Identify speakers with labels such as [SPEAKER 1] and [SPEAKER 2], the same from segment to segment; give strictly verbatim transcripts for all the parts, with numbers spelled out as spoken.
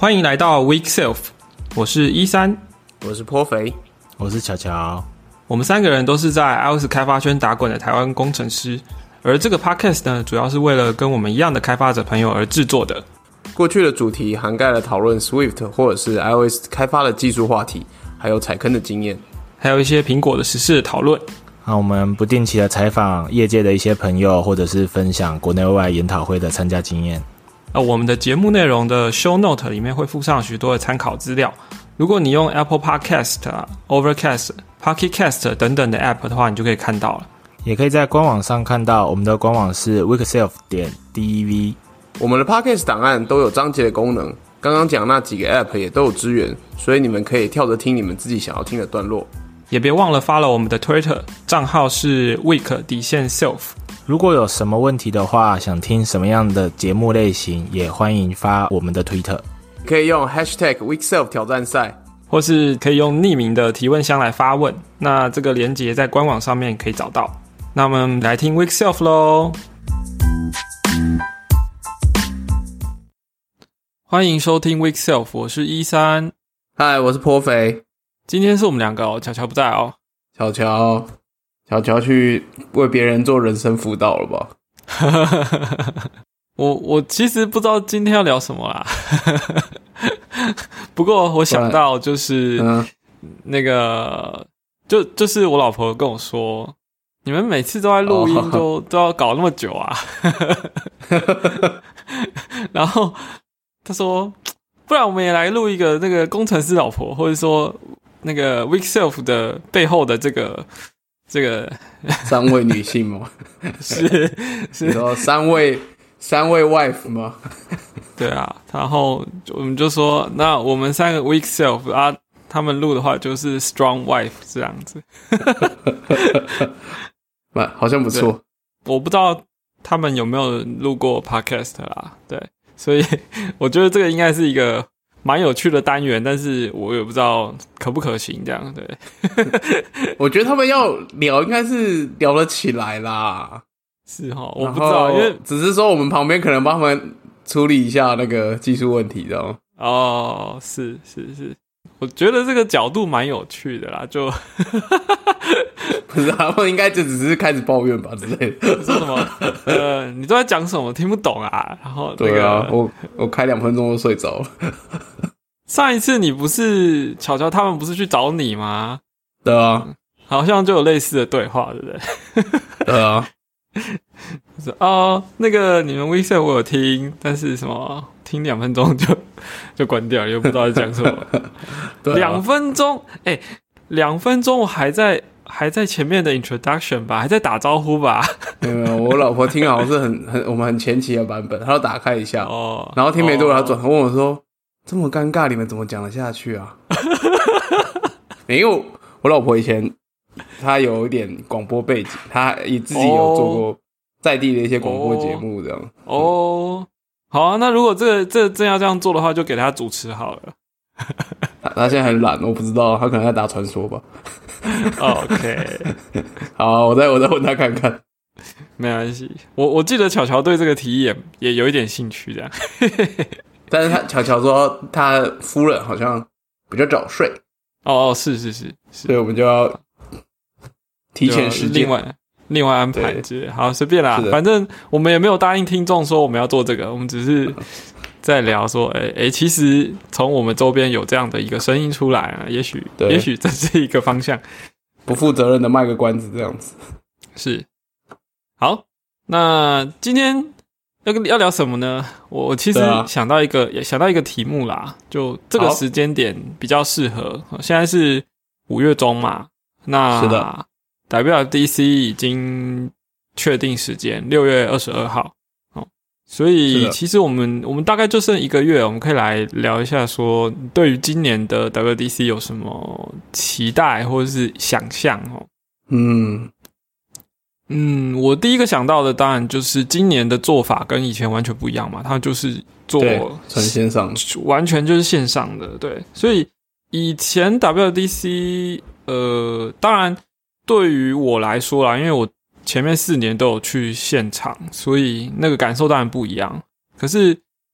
[SPEAKER 1] 欢迎来到 Weak Self， 我是一三，
[SPEAKER 2] 我是颇肥，
[SPEAKER 3] 我是乔乔。
[SPEAKER 1] 我们三个人都是在 iOS 开发圈打滚的台湾工程师，而这个 podcast 呢，主要是为了跟我们一样的开发者朋友而制作的。
[SPEAKER 2] 过去的主题涵盖了讨论 Swift 或者是 iOS 开发的技术话题，还有踩坑的经验，
[SPEAKER 1] 还有一些苹果的时事的讨论。
[SPEAKER 3] 那我们不定期的采访业界的一些朋友，或者是分享国内外研讨会的参加经验。
[SPEAKER 1] 呃，我们的节目内容的 show note 里面会附上许多的参考资料。如果你用 Apple Podcast、Overcast、Pocket Cast 等等的 App 的话，你就可以看到了。
[SPEAKER 3] 也可以在官网上看到，我们的官网是 weakself 点 dev。
[SPEAKER 2] 我们的 Podcast 档案都有章节的功能，刚刚讲那几个 App 也都有支援，所以你们可以跳着听你们自己想要听的段落。
[SPEAKER 1] 也别忘了 follow 我们的 Twitter 账号是 weak 底线 self。
[SPEAKER 3] 如果有什么问题的话，想听什么样的节目类型，也欢迎发我们的 Twitter，
[SPEAKER 2] 可以用 hashtag weakself 挑战赛，
[SPEAKER 1] 或是可以用匿名的提问箱来发问。那这个连结在官网上面可以找到。那我们来听 Weak Self 咯。欢迎收听 Weak Self， 我是一三。
[SPEAKER 2] 嗨，我是颇肥。
[SPEAKER 1] 今天是我们两个哦，乔乔不在哦。
[SPEAKER 2] 乔乔，乔乔去为别人做人生辅导了吧？
[SPEAKER 1] 我我其实不知道今天要聊什么啦。不过我想到就是、嗯、那个就就是我老婆跟我说，你们每次都在录音都、哦、都要搞那么久啊。然后他说，不然我们也来录一个那个工程师老婆，或者说那个 Weak Self 的背后的这个这个
[SPEAKER 2] 三位女性吗？
[SPEAKER 1] 是是，
[SPEAKER 2] 你说三位三位 wife 吗？
[SPEAKER 1] 对啊，然后我们就说，那我们三个 Weak Self 啊，他们录的话就是 Strong Wife 这样子。
[SPEAKER 2] 好像不错。
[SPEAKER 1] 我不知道他们有没有录过 podcast 啦，对，所以我觉得这个应该是一个蛮有趣的单元，但是我也不知道可不可行这样，对。
[SPEAKER 2] 我觉得他们要聊应该是聊得起来啦。
[SPEAKER 1] 是齁，我不知道，因为
[SPEAKER 2] 只是说我们旁边可能帮他们处理一下那个技术问题，知道吗？
[SPEAKER 1] 哦，是是是，我觉得这个角度蛮有趣的啦，就
[SPEAKER 2] 不是他们应该就只是开始抱怨吧之类的。
[SPEAKER 1] 说什么？呃，你都在讲什么？听不懂啊。然后、那个、
[SPEAKER 2] 对啊，我我开两分钟就睡着了。
[SPEAKER 1] 上一次你不是巧巧他们不是去找你吗？
[SPEAKER 2] 对啊，
[SPEAKER 1] 好像就有类似的对话，对不对？
[SPEAKER 2] 对啊。
[SPEAKER 1] 哦，那个你们 Weak Self 我有听，但是什么听两分钟就就关掉了，又不知道在讲什么。两、啊、分钟，哎、欸，两分钟我还在还在前面的 introduction 吧，还在打招呼吧。
[SPEAKER 2] 没有没有，我老婆听好像是很很我们很前期的版本，她要打开一下，哦，然后听没多久，她转头问我说：“这么尴尬，你们怎么讲得下去啊？”因为我老婆以前她有一点广播背景，她也自己有做过在地的一些广播节目，这样。
[SPEAKER 1] 哦，哦好啊，那如果这个这真要这样做的话，就给她主持好了。
[SPEAKER 2] 他, 他现在很懒，我不知道，他可能在打传说吧。
[SPEAKER 1] OK，
[SPEAKER 2] 好，我再我再问他看看。
[SPEAKER 1] 没关系，我我记得巧巧对这个提议也也有一点兴趣，这样。
[SPEAKER 2] 但是他巧巧说他夫人好像比较早睡。
[SPEAKER 1] 哦，是是是，
[SPEAKER 2] 所以我们就要提前时间，
[SPEAKER 1] 另外另外安排之类。好，随便啦，反正我们也没有答应听众说我们要做这个，我们只是在聊说，哎、欸、哎、欸，其实从我们周边有这样的一个声音出来啊，也许也许这是一个方向。
[SPEAKER 2] 不负责任的卖个关子，这样子
[SPEAKER 1] 是。好，那今天要要聊什么呢？我我其实想到一个、啊、想到一个题目啦，就这个时间点比较适合。现在是五月中嘛，那
[SPEAKER 2] 是的
[SPEAKER 1] W W D C 已经确定时间，六月二十二号。所以其实我们我们大概就剩一个月，我们可以来聊一下说对于今年的 W W D C 有什么期待或者是想象哦。
[SPEAKER 2] 嗯
[SPEAKER 1] 嗯，我第一个想到的当然就是今年的做法跟以前完全不一样嘛，它就是做
[SPEAKER 2] 纯线上，
[SPEAKER 1] 完全就是线上的，对。所以以前 W W D C 呃，当然对于我来说啦，因为我前面四年都有去现场，所以那个感受当然不一样。可是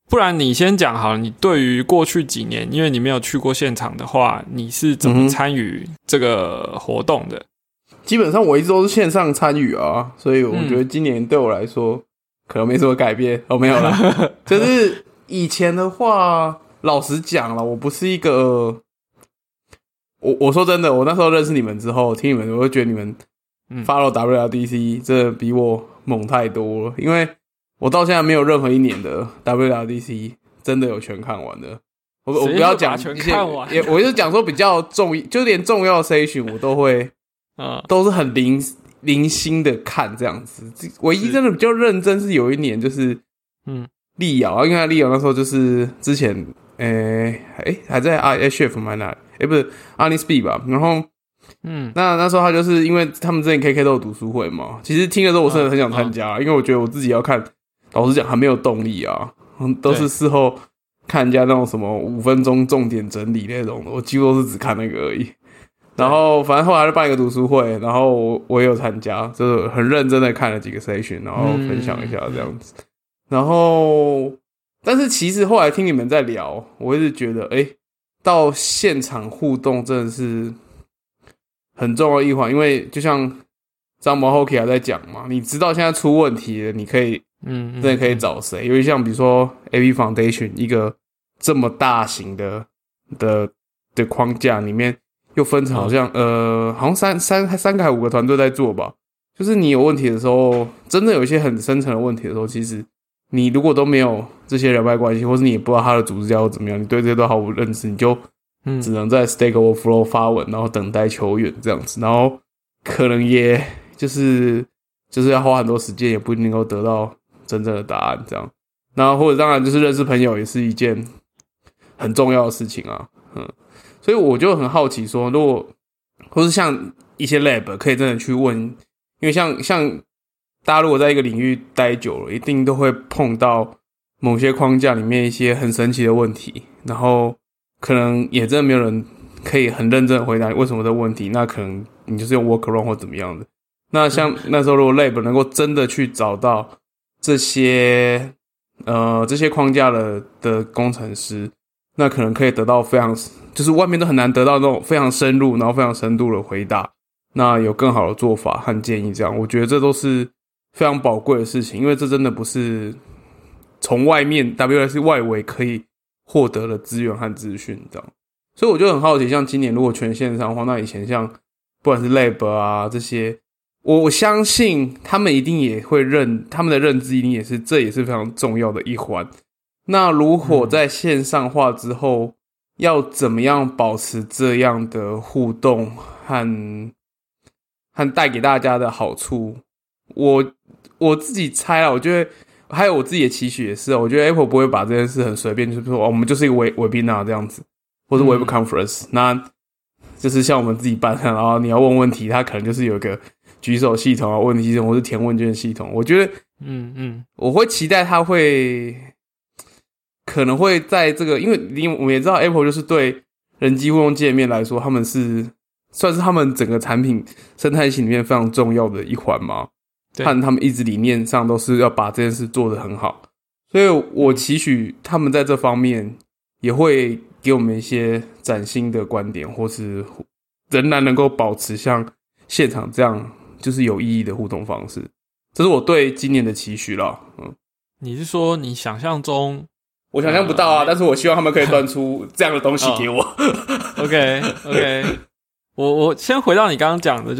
[SPEAKER 1] 不然你先讲好了，你对于过去几年，因为你没有去过现场的话，你是怎么参与这个活动的？
[SPEAKER 2] 嗯、基本上我一直都是线上参与啊，所以我觉得今年对我来说、嗯、可能没什么改变。哦，没有啦，就是以前的话，老实讲啦，我不是一个，我我说真的，我那时候认识你们之后，听你们，我会觉得你们 follow W L D C 真的比我猛太多了，因为我到现在没有任何一年的 W L D C 真的有全看完的。我我不要讲
[SPEAKER 1] 全看完，
[SPEAKER 2] 也我就讲说比较重，就连重要 session 我都会，嗯，都是很零零星的看这样子。唯一真的比较认真是有一年就是，嗯，力瑶，因为力瑶那时候就是之前，诶、欸、诶、欸、还在 H F 买哪？诶、欸、不是 Honest B 吧？然后。嗯，那那时候他就是因为他们之前 K K 都有读书会嘛，其实听的时候我真的很想参加、嗯嗯，因为我觉得我自己要看，老实讲还没有动力啊，都是事后看人家那种什么五分钟重点整理那种的，我几乎都是只看那个而已。然后反正后来就办一个读书会，然后我我也有参加，就是很认真的看了几个 session， 然后分享一下这样子。嗯、然后，但是其实后来听你们在聊，我一直觉得，哎、欸，到现场互动真的是。很重要的一环，因为就像张毛 Hockey 还在讲嘛，你知道现在出问题了，你可以，嗯，真的可以找谁？因为像比如说 A P Foundation 一个这么大型的的的框架里面，又分成好像、嗯、呃，好像三三三个还五个团队在做吧。就是你有问题的时候，真的有一些很深层的问题的时候，其实你如果都没有这些人脉关系，或是你也不知道他的组织要怎么样，你对这些都毫无认识，你就。只能在 Stack Overflow 发文，然后等待球员这样子，然后可能也就是就是要花很多时间，也不一定能够得到真正的答案这样。然后或者当然就是认识朋友也是一件很重要的事情啊，嗯，所以我就很好奇说，如果或是像一些 lab 可以真的去问，因为像像大家如果在一个领域待久了，一定都会碰到某些框架里面一些很神奇的问题，然后。可能也真的没有人可以很认真的回答你为什么这个问题，那可能你就是用 workaround 或怎么样的。那像那时候如果 lab 能够真的去找到这些呃这些框架的的工程师，那可能可以得到非常就是外面都很难得到那种非常深入然后非常深度的回答，那有更好的做法和建议这样，我觉得这都是非常宝贵的事情，因为这真的不是从外面 W L D C 外围可以获得了资源和资讯，这样，所以我就很好奇，像今年如果全线上的话，那以前像不管是 Lab 啊这些，我我相信他们一定也会认，他们的认知一定也是，这也是非常重要的一环。那如果在线上化之后，嗯、要怎么样保持这样的互动和和带给大家的好处？我我自己猜啦，我觉得。还有我自己的期许也是，我觉得 Apple 不会把这件事很随便，就是说、哦、我们就是一个 webinar 这样子，或是 web conference，、嗯、那就是像我们自己办，然后你要问问题，它可能就是有一个举手系统啊、问题系统或是填问卷系统。我觉得，嗯嗯，我会期待它会可能会在这个，因为我们也知道 Apple 就是对人机互动界面来说，他们是算是他们整个产品生态系里面非常重要的一环嘛。和他们一直理念上都是要把这件事做得很好，所以我期许他们在这方面也会给我们一些崭新的观点，或是仍然能够保持像现场这样就是有意义的互动方式，这是我对今年的期许啦。嗯，
[SPEAKER 1] 你是说你想象中？
[SPEAKER 2] 我想象不到啊，但是我希望他们可以端出这样的东西给我。
[SPEAKER 1] 哦、OK OK， 我我先回到你刚刚讲的，就是。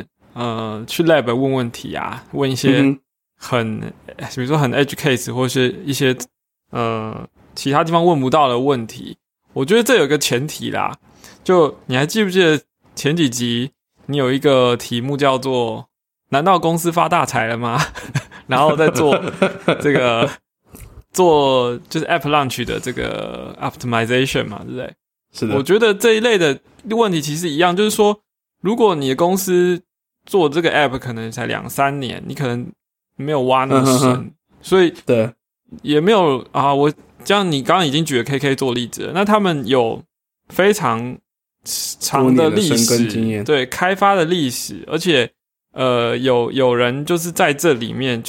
[SPEAKER 1] 呃，去 lab 问问题啊，问一些很，嗯、比如说很 edge case 或是一些呃其他地方问不到的问题。我觉得这有一个前提啦，就你还记不记得前几集你有一个题目叫做“难道公司发大财了吗？”然后再做这个做就是 app launch 的这个 optimization 嘛，对不对？
[SPEAKER 2] 是的。
[SPEAKER 1] 我觉得这一类的问题其实一样，就是说，如果你的公司做这个 app 可能才两三年，你可能没有挖那么深，嗯、所以
[SPEAKER 2] 对
[SPEAKER 1] 也没有啊。我这样你刚刚已经举了 K K 做例子了，那他们有非常长的历史，对开发的历史，而且呃有有人就是在这里面，就是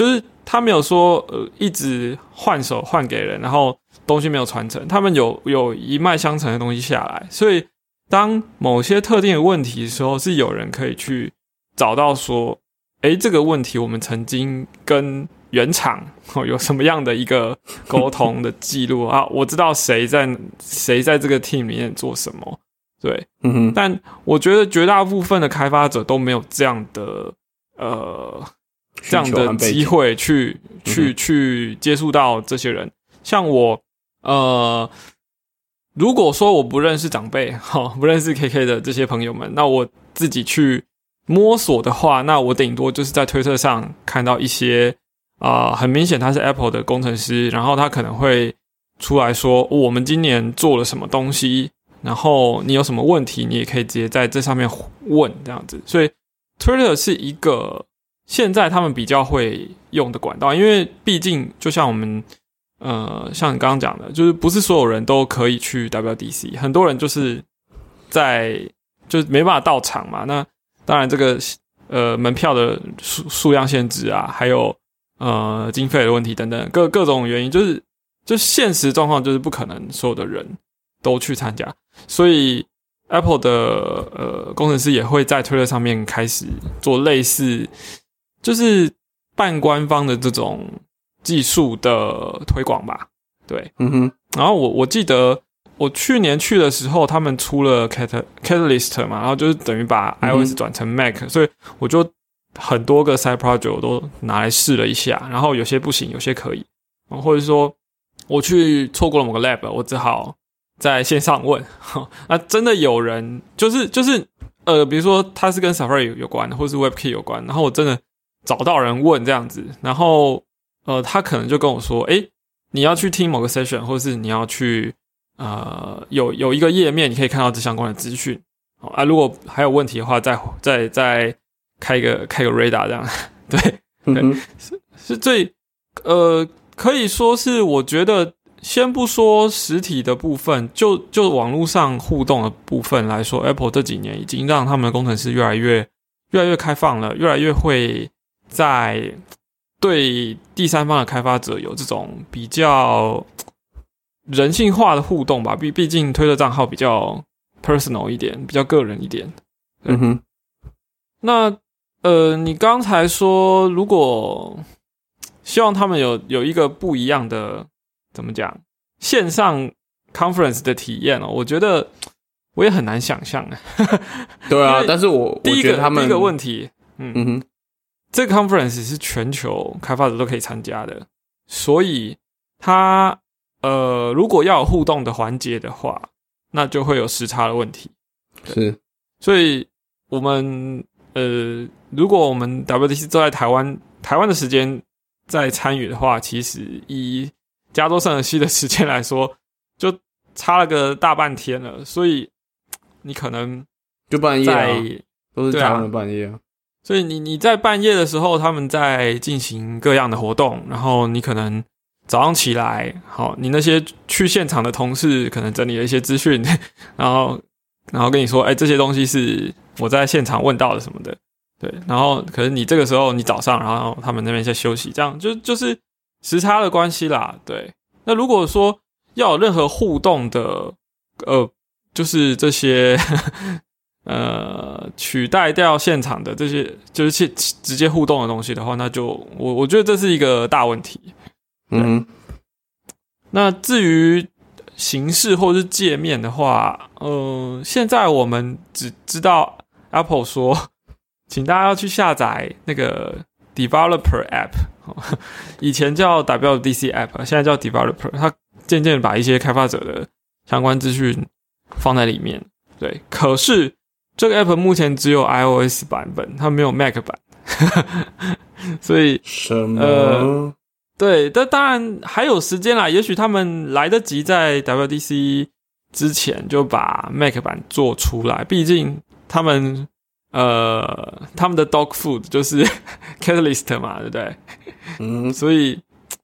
[SPEAKER 1] 他没有说呃一直换手换给人，然后东西没有传承，他们有有一脉相承的东西下来，所以当某些特定的问题的时候，是有人可以去找到说，诶，这个问题我们曾经跟原厂、哦、有什么样的一个沟通的记录啊？我知道谁在谁在这个 team 里面做什么，对，
[SPEAKER 2] 嗯哼，
[SPEAKER 1] 但我觉得绝大部分的开发者都没有这样的呃这样的机会去去、嗯、去接触到这些人。像我呃，如果说我不认识长辈，哈、哦，不认识 K K 的这些朋友们，那我自己去摸索的话，那我顶多就是在推特上看到一些啊、呃，很明显他是 Apple 的工程师，然后他可能会出来说、哦、我们今年做了什么东西，然后你有什么问题，你也可以直接在这上面问这样子。所以 Twitter 是一个现在他们比较会用的管道，因为毕竟就像我们呃，像你刚刚讲的，就是不是所有人都可以去 W W D C， 很多人就是在就是没办法到场嘛。那当然这个呃门票的数数量限制啊，还有呃经费的问题等等各各种原因，就是就现实状况就是不可能所有的人都去参加，所以 Apple 的呃工程师也会在 Twitter 上面开始做类似就是半官方的这种技术的推广吧，对，
[SPEAKER 2] 嗯哼。
[SPEAKER 1] 然后我我记得我去年去的时候，他们出了 Catalyst 嘛，然后就是等于把 iOS 转成 Mac，、嗯、所以我就很多个 side project 我都拿来试了一下，然后有些不行，有些可以，或者说我去错过了某个 lab， 我只好在线上问，那真的有人就是就是呃，比如说他是跟 Safari 有关，或是 WebKit 有关，然后我真的找到人问这样子，然后呃，他可能就跟我说，诶，你要去听某个 session， 或是你要去呃有有一个页面，你可以看到这相关的资讯。哦啊，如果还有问题的话，再再再开个开个 radar 这样，对对，嗯、是是最呃，可以说是我觉得，先不说实体的部分，就就网络上互动的部分来说 ，Apple 这几年已经让他们的工程师越来越越来越开放了，越来越会在对第三方的开发者有这种比较人性化的互动吧，毕毕竟推特账号比较 personal 一点，比较个人一点。
[SPEAKER 2] 嗯哼。
[SPEAKER 1] 那呃，你刚才说如果希望他们有有一个不一样的怎么讲线上 conference 的体验哦，我觉得我也很难想象。
[SPEAKER 2] 对啊，但是我
[SPEAKER 1] 第一个
[SPEAKER 2] 我觉得他们
[SPEAKER 1] 第一个问题，嗯
[SPEAKER 2] 嗯哼。
[SPEAKER 1] 这个 conference 是全球开发者都可以参加的，所以它呃，如果要有互动的环节的话，那就会有时差的问题。
[SPEAKER 2] 是，
[SPEAKER 1] 所以我们呃，如果我们 W W D C 都在台湾台湾的时间在参与的话，其实以加州圣荷西的时间来说，就差了个大半天了，所以你可能
[SPEAKER 2] 就半夜啊，都是台湾的半夜啊。
[SPEAKER 1] 所以你你在半夜的时候，他们在进行各样的活动，然后你可能早上起来，好，你那些去现场的同事可能整理了一些资讯，然后然后跟你说，哎，这些东西是我在现场问到的什么的，对，然后可是你这个时候你早上，然后他们那边在休息，这样就就是时差的关系啦，对。那如果说要有任何互动的，呃，就是这些。呃，取代掉现场的这些就是直接互动的东西的话，那就我我觉得这是一个大问题。
[SPEAKER 2] 嗯，
[SPEAKER 1] 那至于形式或是界面的话，呃，现在我们只知道 Apple 说，请大家要去下载那个 Developer App， 以前叫 W W D C App， 现在叫 Developer， 它渐渐把一些开发者的相关资讯放在里面。对，可是这个 app 目前只有 iOS 版本，它没有 Mac 版，所以
[SPEAKER 2] 什么？
[SPEAKER 1] 呃，对，但当然还有时间啦，也许他们来得及在 W W D C 之前就把 Mac 版做出来，毕竟他们呃他们的 dog food 就是 Catalyst 嘛，对不对？
[SPEAKER 2] 嗯，
[SPEAKER 1] 所以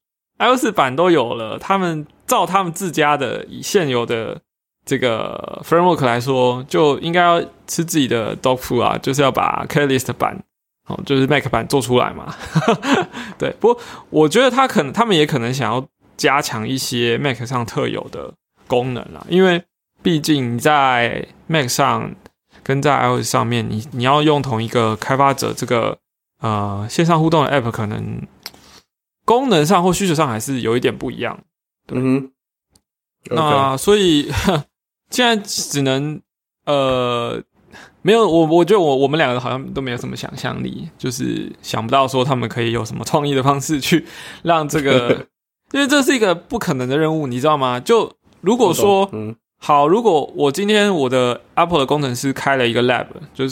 [SPEAKER 1] iOS 版都有了，他们照他们自家的以现有的这个 framework 来说，就应该要吃自己的 dog food 啊，就是要把 Catalyst 版哦，就是 Mac 版做出来嘛。对，不过我觉得他可能他们也可能想要加强一些 Mac 上特有的功能啦，因为毕竟你在 Mac 上跟在 iOS 上面，你你要用同一个开发者这个呃线上互动的 App， 可能功能上或需求上还是有一点不一样。
[SPEAKER 2] 嗯哼，
[SPEAKER 1] 那所以现在只能呃没有我我觉得我我们两个好像都没有什么想象力，就是想不到说他们可以有什么创意的方式去让这个，因为这是一个不可能的任务，你知道吗？就如果说，嗯，好，如果我今天我的 Apple 的工程师开了一个 lab， 就是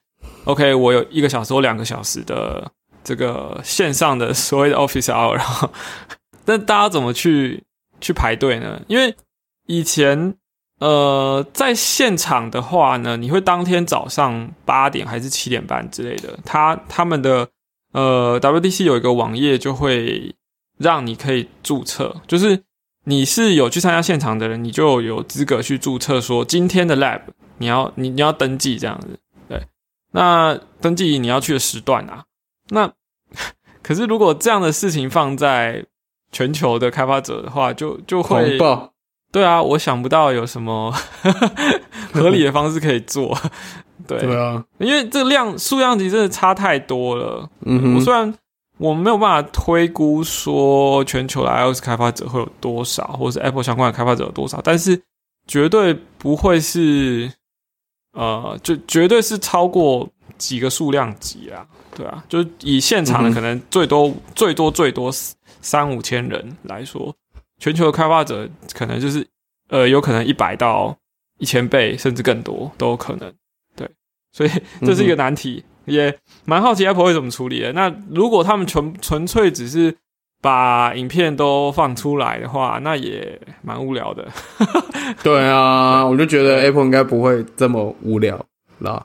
[SPEAKER 1] OK， 我有一个小时或两个小时的这个线上的所谓的 Office Hour， 然后，但大家怎么去去排队呢？因为以前呃在现场的话呢，你会当天早上八点还是七点半之类的，他他们的呃 W D C 有一个网页就会让你可以注册，就是你是有去参加现场的人，你就有资格去注册说今天的 lab 你要你你要登记这样子。对，那登记你要去的时段啊。那可是如果这样的事情放在全球的开发者的话，就就会对啊，我想不到有什么合理的方式可以做。对
[SPEAKER 2] 对啊，
[SPEAKER 1] 因为这量数量级真的差太多了。
[SPEAKER 2] 嗯哼，
[SPEAKER 1] 我虽然我没有办法推估说全球的 iOS 开发者会有多少，或者是 Apple 相关的开发者有多少，但是绝对不会是呃，就绝对是超过几个数量级啊，对啊，就以现场的可能最多、嗯、最多最多三五千人来说，全球的开发者可能就是呃，有可能一百到一千倍，甚至更多都有可能。对，所以这是一个难题。嗯，也蛮好奇 Apple 会怎么处理的。那如果他们纯纯粹只是把影片都放出来的话，那也蛮无聊的。
[SPEAKER 2] 对啊，我就觉得 Apple 应该不会这么无聊啦。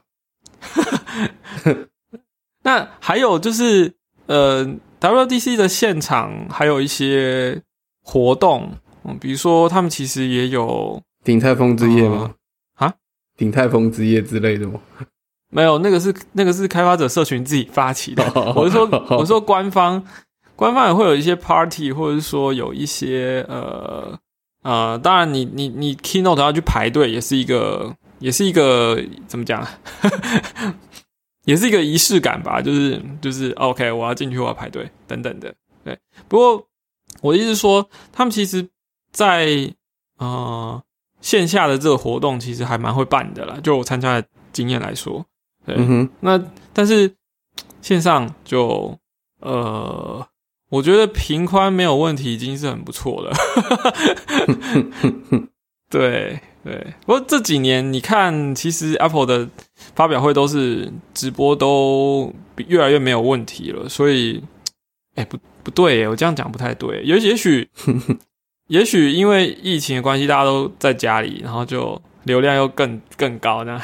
[SPEAKER 1] 那还有就是呃 W D C 的现场还有一些活动，嗯，比如说他们其实也有
[SPEAKER 2] 鼎泰丰之夜吗？
[SPEAKER 1] 啊，
[SPEAKER 2] 鼎泰丰之夜之类的吗？
[SPEAKER 1] 没有，那个是那个是开发者社群自己发起的。我是说，我是说官方官方也会有一些 party， 或者是说有一些呃呃，当然你你你 keynote 要去排队，也是一个也是一个怎么讲，也是一个仪式感吧。就是就是 OK， 我要进去，我要排队等等的。对，不过我的意思是说，他们其实在呃线下的这个活动其实还蛮会办的啦，就我参加的经验来说。对，
[SPEAKER 2] 嗯哼，
[SPEAKER 1] 那但是线上就呃，我觉得频宽没有问题已经是很不错了。对对，不过这几年你看，其实 Apple 的发表会都是直播都越来越没有问题了，所以，哎、欸，不不对耶，我这样讲不太对，也也许也许因为疫情的关系，大家都在家里，然后就流量又更更高呢。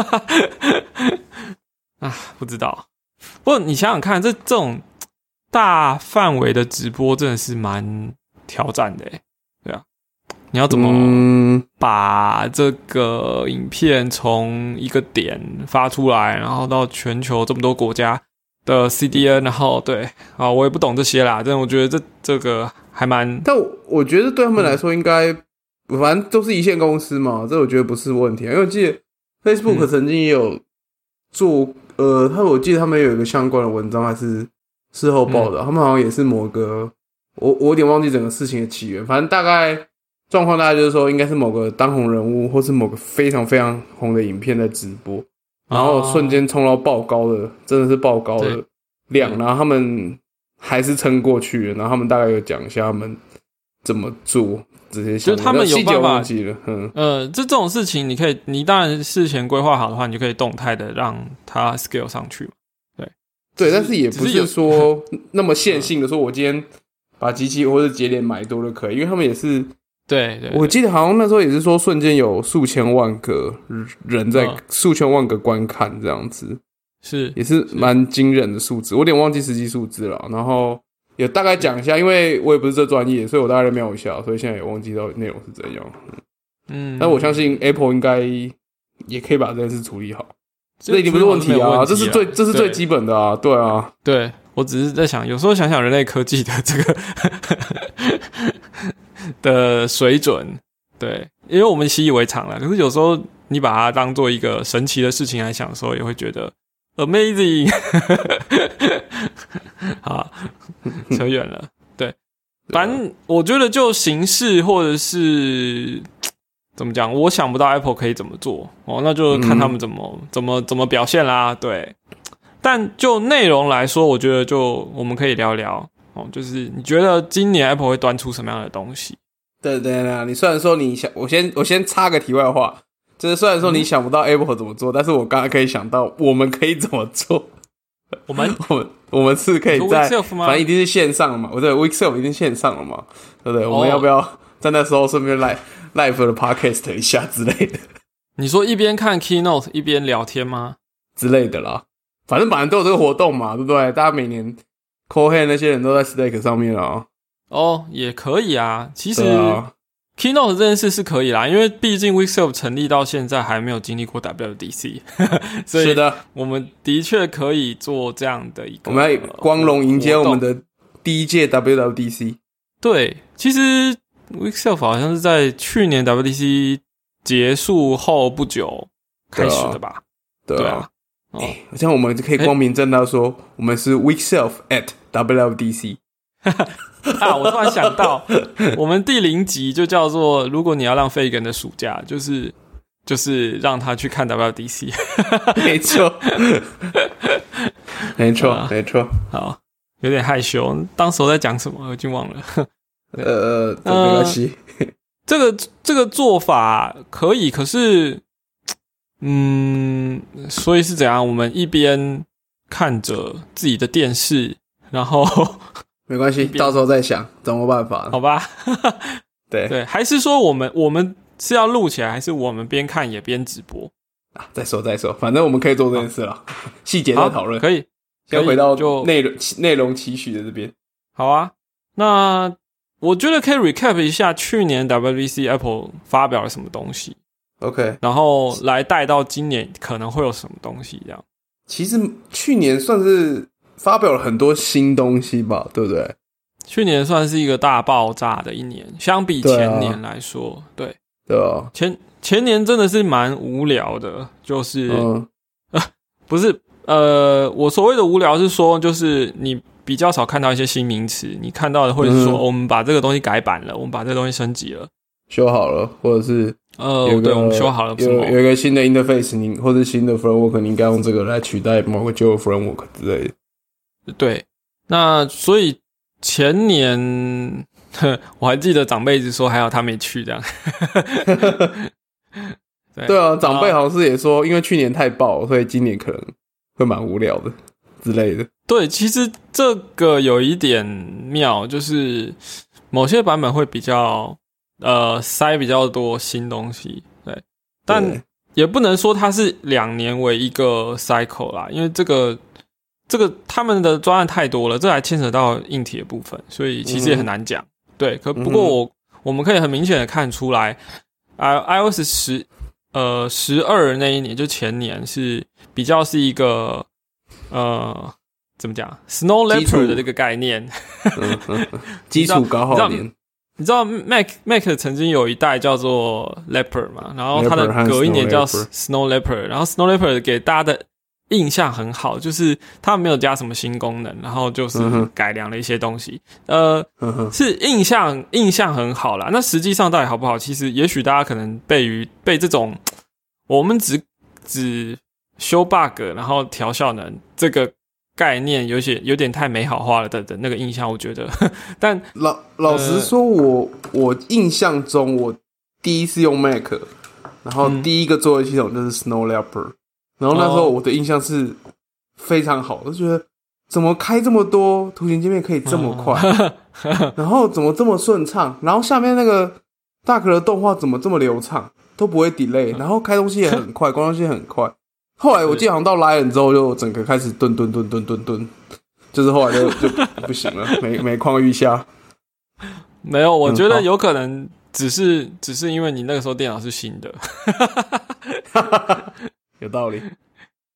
[SPEAKER 1] 啊，不知道。不过你想想看，这这种大范围的直播真的是蛮挑战的耶，对啊，你要怎么把这个影片从一个点发出来，然后到全球这么多国家的 C D N， 然后对啊，我也不懂这些啦，但我觉得这这个还蛮……
[SPEAKER 2] 但我觉得对他们来说应该，嗯、反正都是一线公司嘛，这我觉得不是问题，因为我记得 Facebook 曾经也有做。嗯呃，他我记得他们有一个相关的文章，还是事后报的、嗯，他们好像也是某个，我我有点忘记整个事情的起源，反正大概状况大概就是说，应该是某个当红人物，或是某个非常非常红的影片在直播，然后瞬间冲到爆高的，真的是爆高的量，然后他们还是撑过去了，然后他们大概有讲一下他们怎么做。这些
[SPEAKER 1] 就是他们有办法，
[SPEAKER 2] 嗯，
[SPEAKER 1] 呃，这这种事情，你可以，你当然事前规划好的话，你就可以动态的让它 scale 上去嘛。对，
[SPEAKER 2] 对，但是也不是说那么线性的说，我今天把机器或者节点买多就可以，因为他们也是，
[SPEAKER 1] 对 对, 对，
[SPEAKER 2] 我记得好像那时候也是说，瞬间有数千万个人在、嗯、数千万个观看这样子，
[SPEAKER 1] 是
[SPEAKER 2] 也是蛮惊人的数字，我有点忘记实际数字了，然后。有大概讲一下，因为我也不是这专业，所以我大概瞄一下，所以现在也忘记到内容是怎样。嗯，但我相信 Apple 应该也可以把这件事处理好。 这一定不是问题啊，啊这是最这是最基本的啊，对啊，
[SPEAKER 1] 对，我只是在想，有时候想想人类科技的这个的水准，对，因为我们习以为常了，可是有时候你把它当做一个神奇的事情来想的时候，也会觉得 amazing 好，扯远了，对，反正我觉得就形式或者是怎么讲，我想不到 Apple 可以怎么做哦，那就看他们怎么、嗯、怎么怎么表现啦。对，但就内容来说，我觉得就我们可以聊聊哦，就是你觉得今年 Apple 会端出什么样的东西？
[SPEAKER 2] 对对对，你虽然说你想，我先我先插个题外话，就是虽然说你想不到 Apple 怎么做，嗯、但是我刚刚可以想到我们可以怎么做。
[SPEAKER 1] 我们
[SPEAKER 2] 我们我们是可以在，反正一定是线上嘛，我对 Weekself 一定线上了嘛，对不对？哦、我们要不要在那时候顺便来 live 的 podcast 一下之类的？
[SPEAKER 1] 你说一边看 keynote 一边聊天吗？
[SPEAKER 2] 之类的啦，反正本来都有这个活动嘛，对不对？大家每年 Cohen 那些人都在 Slack 上面啊。
[SPEAKER 1] 哦，也可以啊。其实、啊、keynote 这件事是可以啦，因为毕竟 Weekself 成立到现在还没有经历过 W W D C， 所以我们的确可以做这样的一个。
[SPEAKER 2] 我们要光荣迎接我们的第一届 W W D C。
[SPEAKER 1] 对，其实 Weekself 好像是在去年 W W D C 结束后不久开始的吧？
[SPEAKER 2] 对啊，对啊。哦，欸、这样我们就可以光明正大说，欸、我们是 Weekself at W W D C。
[SPEAKER 1] 啊！我突然想到，我们第零集就叫做"如果你要让费根的暑假，就是就是让他去看 W W D C"。
[SPEAKER 2] 没错，没错，没错。
[SPEAKER 1] 好，有点害羞，当时我在讲什么，我已经忘了。
[SPEAKER 2] 呃，这没关系。
[SPEAKER 1] 呃、这个这个做法可以，可是，嗯，所以是怎样？我们一边看着自己的电视，然后。
[SPEAKER 2] 没关系，到时候再想怎么办法。
[SPEAKER 1] 好吧，
[SPEAKER 2] 对
[SPEAKER 1] 对，还是说我们我们是要录起来，还是我们边看也边直播
[SPEAKER 2] 啊？再说再说，反正我们可以做这件事了，细节再讨论。
[SPEAKER 1] 可以，
[SPEAKER 2] 先回到内容内容期许的这边。
[SPEAKER 1] 好啊，那我觉得可以 recap 一下去年 W W D C Apple 发表了什么东西
[SPEAKER 2] ，OK，
[SPEAKER 1] 然后来带到今年可能会有什么东西这样。
[SPEAKER 2] 其实去年算是发表了很多新东西吧，对不对？
[SPEAKER 1] 去年算是一个大爆炸的一年，相比前年来说，对啊，
[SPEAKER 2] 对，对啊，
[SPEAKER 1] 前前年真的是蛮无聊的，就是、嗯呃、不是呃，我所谓的无聊是说，就是你比较少看到一些新名词，你看到的会是说、嗯哦、我们把这个东西改版了，我们把这个东西升级了，
[SPEAKER 2] 修好了，或者是
[SPEAKER 1] 呃，对，我们修好了，
[SPEAKER 2] 有有一个新的 interface， 你或者新的 framework， 你应该用这个来取代某个旧的 framework 之类的。
[SPEAKER 1] 对，那所以前年我还记得长辈一直说还好他没去这样。
[SPEAKER 2] 对, 对啊，长辈好像是也说，因为去年太爆，所以今年可能会蛮无聊的之类的。
[SPEAKER 1] 对，其实这个有一点妙，就是某些版本会比较呃塞比较多新东西，对，但也不能说它是两年为一个 cycle 啦，因为这个。这个他们的专案太多了，这还牵扯到硬体的部分，所以其实也很难讲。嗯、对，可不过我、嗯、我们可以很明显的看出来，啊 ，iOS 十呃十二那一年就前年是比较是一个呃怎么讲 Snow Leopard 的这个概念，
[SPEAKER 2] 嗯嗯、基础高耗年。
[SPEAKER 1] 你知道 Mac Mac 曾经有一代叫做 Leopard 嘛，然后它的隔一年叫 Snow Leopard， 然后 Snow Leopard 给大家的印象很好，就是他没有加什么新功能，然后就是改良了一些东西，嗯、呃，是印象印象很好啦。那实际上到底好不好？其实也许大家可能被于被这种我们只只修 bug 然后调效能这个概念有些有点太美好化了的的那个印象，我觉得。但
[SPEAKER 2] 老老实说我，我我印象中我第一次用 Mac， 然后第一个作业系统就是 Snow Leopard。然后那时候我的印象是非常好，我就觉得怎么开这么多图形界面可以这么快，然后怎么这么顺畅，然后下面那个大壳的动画怎么这么流畅，都不会 delay， 然后开东西也很快，关东西也很快。后来我记得好像到 Lion 之后，就整个开始顿顿顿顿顿顿，就是后来就就不行了，每每况愈下。
[SPEAKER 1] 没有，我觉得有可能只是、嗯、只是因为你那个时候电脑是新的。
[SPEAKER 2] 有道理，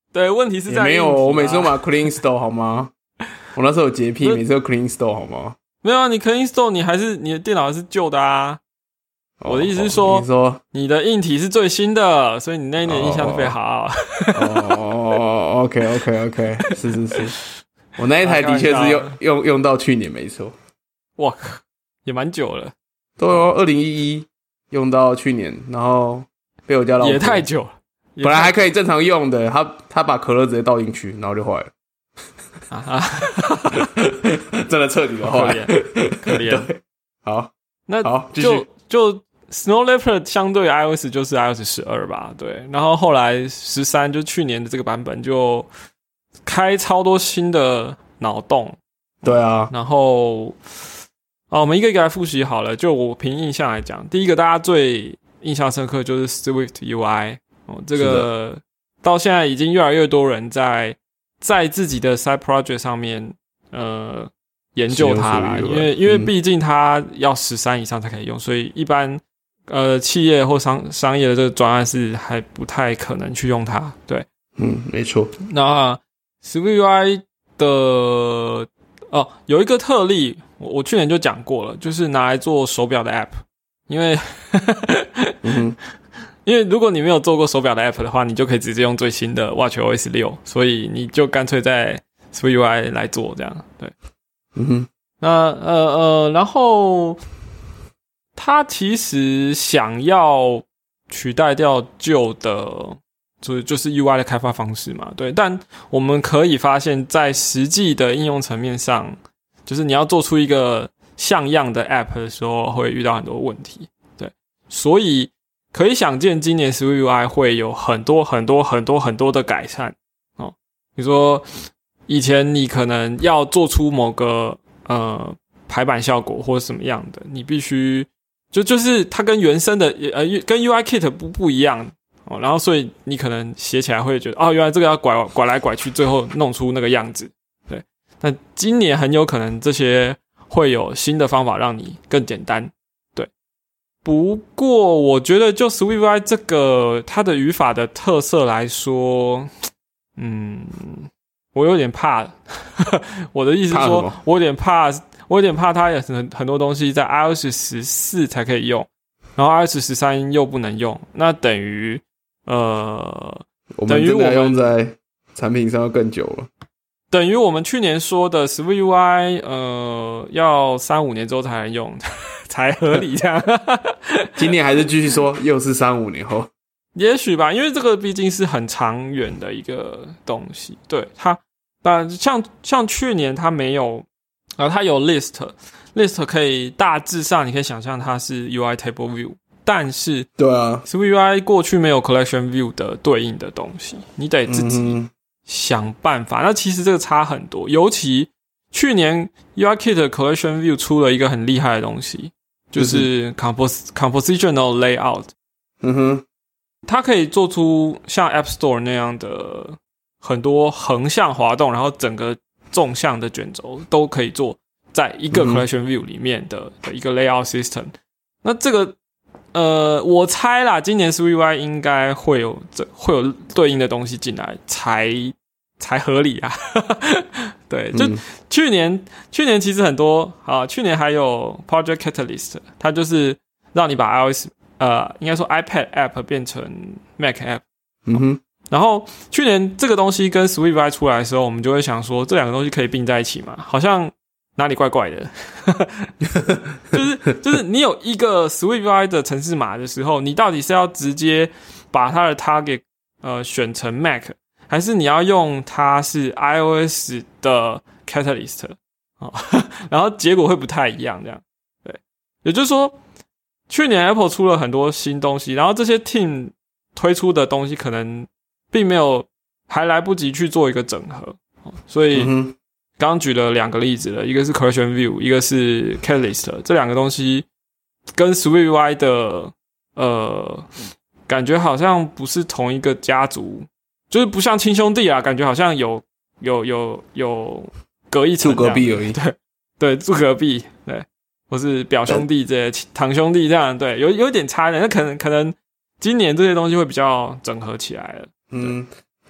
[SPEAKER 1] 对，问题是在
[SPEAKER 2] 没有，我每次都买 Clean Store 好吗？我那时候有洁癖，每次都 Clean Store 好吗？
[SPEAKER 1] 没有啊，你 Clean Store 你还是你的电脑还是旧的啊。哦、我的意思是说，
[SPEAKER 2] 你说
[SPEAKER 1] 你的硬体是最新的，所以你那一年印象特别好。
[SPEAKER 2] 哦 ，OK OK OK， 是是是，我那一台的确是用用用到去年没错。
[SPEAKER 1] 哇，也蛮久了。
[SPEAKER 2] 对哦，二零一一用到去年，然后被我家老婆
[SPEAKER 1] 也太久了。
[SPEAKER 2] 本来还可以正常用的，他他把可乐直接倒进去，然后就坏了。
[SPEAKER 1] 啊
[SPEAKER 2] 真的彻底的坏，
[SPEAKER 1] 可怜。
[SPEAKER 2] 好，
[SPEAKER 1] 那
[SPEAKER 2] 好，
[SPEAKER 1] 就就 Snow Leopard 相对 iOS 就是 iOS 十二吧，对。然后后来十三就去年的这个版本就开超多新的脑洞。
[SPEAKER 2] 对啊，
[SPEAKER 1] 然后啊，我们一个一个来复习好了。就我凭印象来讲，第一个大家最印象深刻就是 Swift U I。哦，这个到现在已经越来越多人在在自己的 side project 上面呃研究它啦，因为因为毕竟它要十三以上才可以用，所以一般呃企业或商商业的这个专案是还不太可能去用它。对，
[SPEAKER 2] 嗯，没错。
[SPEAKER 1] 那 Swift U I 的哦有一个特例，我我去年就讲过了，就是拿来做手表的 app， 因为
[SPEAKER 2] 嗯哼。
[SPEAKER 1] 因为如果你没有做过手表的 app 的话，你就可以直接用最新的 watchOS 六，所以你就干脆在 Swift U I 来做这样。对，
[SPEAKER 2] 嗯哼。
[SPEAKER 1] 那呃呃，然后他其实想要取代掉旧的，就是就是 U I 的开发方式嘛，对。但我们可以发现，在实际的应用层面上，就是你要做出一个像样的 app 的时候，会遇到很多问题。对，所以可以想见，今年 Swift U I 会有很多很多很多很多的改善哦。比如说，以前你可能要做出某个呃排版效果或者什么样的，你必须就就是它跟原生的呃跟 U I Kit 不不一样哦。然后所以你可能写起来会觉得哦，原来这个要拐拐来拐去，最后弄出那个样子。对，但今年很有可能这些会有新的方法让你更简单。不过我觉得就 Swift U I 这个它的语法的特色来说，嗯，我有点怕我的意思是说我有点怕我有点怕它有很很多东西在 iOS 十四才可以用，然后 iOS 十三又不能用，那等于呃
[SPEAKER 2] 我们真的用在产品上要更久了，
[SPEAKER 1] 等于我们去年说的 Swift U I 呃要三五年之后才能用才合理这样
[SPEAKER 2] 今年还是继续说又是三五年后，
[SPEAKER 1] 也许吧，因为这个毕竟是很长远的一个东西。对，它但像像去年它没有啊，它有 list list 可以大致上你可以想象它是 U I table view， 但是
[SPEAKER 2] 对啊
[SPEAKER 1] Swift U I 过去没有 collection view 的对应的东西，你得自己想办法、嗯、那其实这个差很多，尤其去年 U I Kit collection view 出了一个很厉害的东西，就是 compos compositional layout。
[SPEAKER 2] 嗯哼，
[SPEAKER 1] 它可以做出像 App Store 那样的很多横向滑动，然后整个纵向的卷轴都可以做在一个 collection view 里面的、嗯、的一个 layout system。那这个呃，我猜啦，今年 Swift U I 应该会有这会有对应的东西进来，才才合理啊。对，就去年、嗯、去年其实很多啊，去年还有 Project Catalyst， 它就是让你把 iOS 呃，应该说 iPad App 变成 Mac App。
[SPEAKER 2] 嗯哼。
[SPEAKER 1] 然后去年这个东西跟 Swift U I 出来的时候，我们就会想说，这两个东西可以并在一起嘛？好像哪里怪怪的。就是就是你有一个 Swift U I 的程式码的时候，你到底是要直接把它的 target 呃选成 Mac， 还是你要用它是 iOS 的 Catalyst？ 哦，然后结果会不太一样，这样。对，也就是说，去年 Apple 出了很多新东西，然后这些 team 推出的东西可能并没有还来不及去做一个整合，所以刚刚举了两个例子了，一个是 Collection View， 一个是 Catalyst， 这两个东西跟 Swift U I 的呃感觉好像不是同一个家族，就是不像亲兄弟啊，感觉好像有有有有隔一层，
[SPEAKER 2] 住隔壁而已，
[SPEAKER 1] 对对，住隔壁，对，或是表兄弟这些堂兄弟这样，对，有有点差的，那可能可能今年这些东西会比较整合起来了。
[SPEAKER 2] 嗯，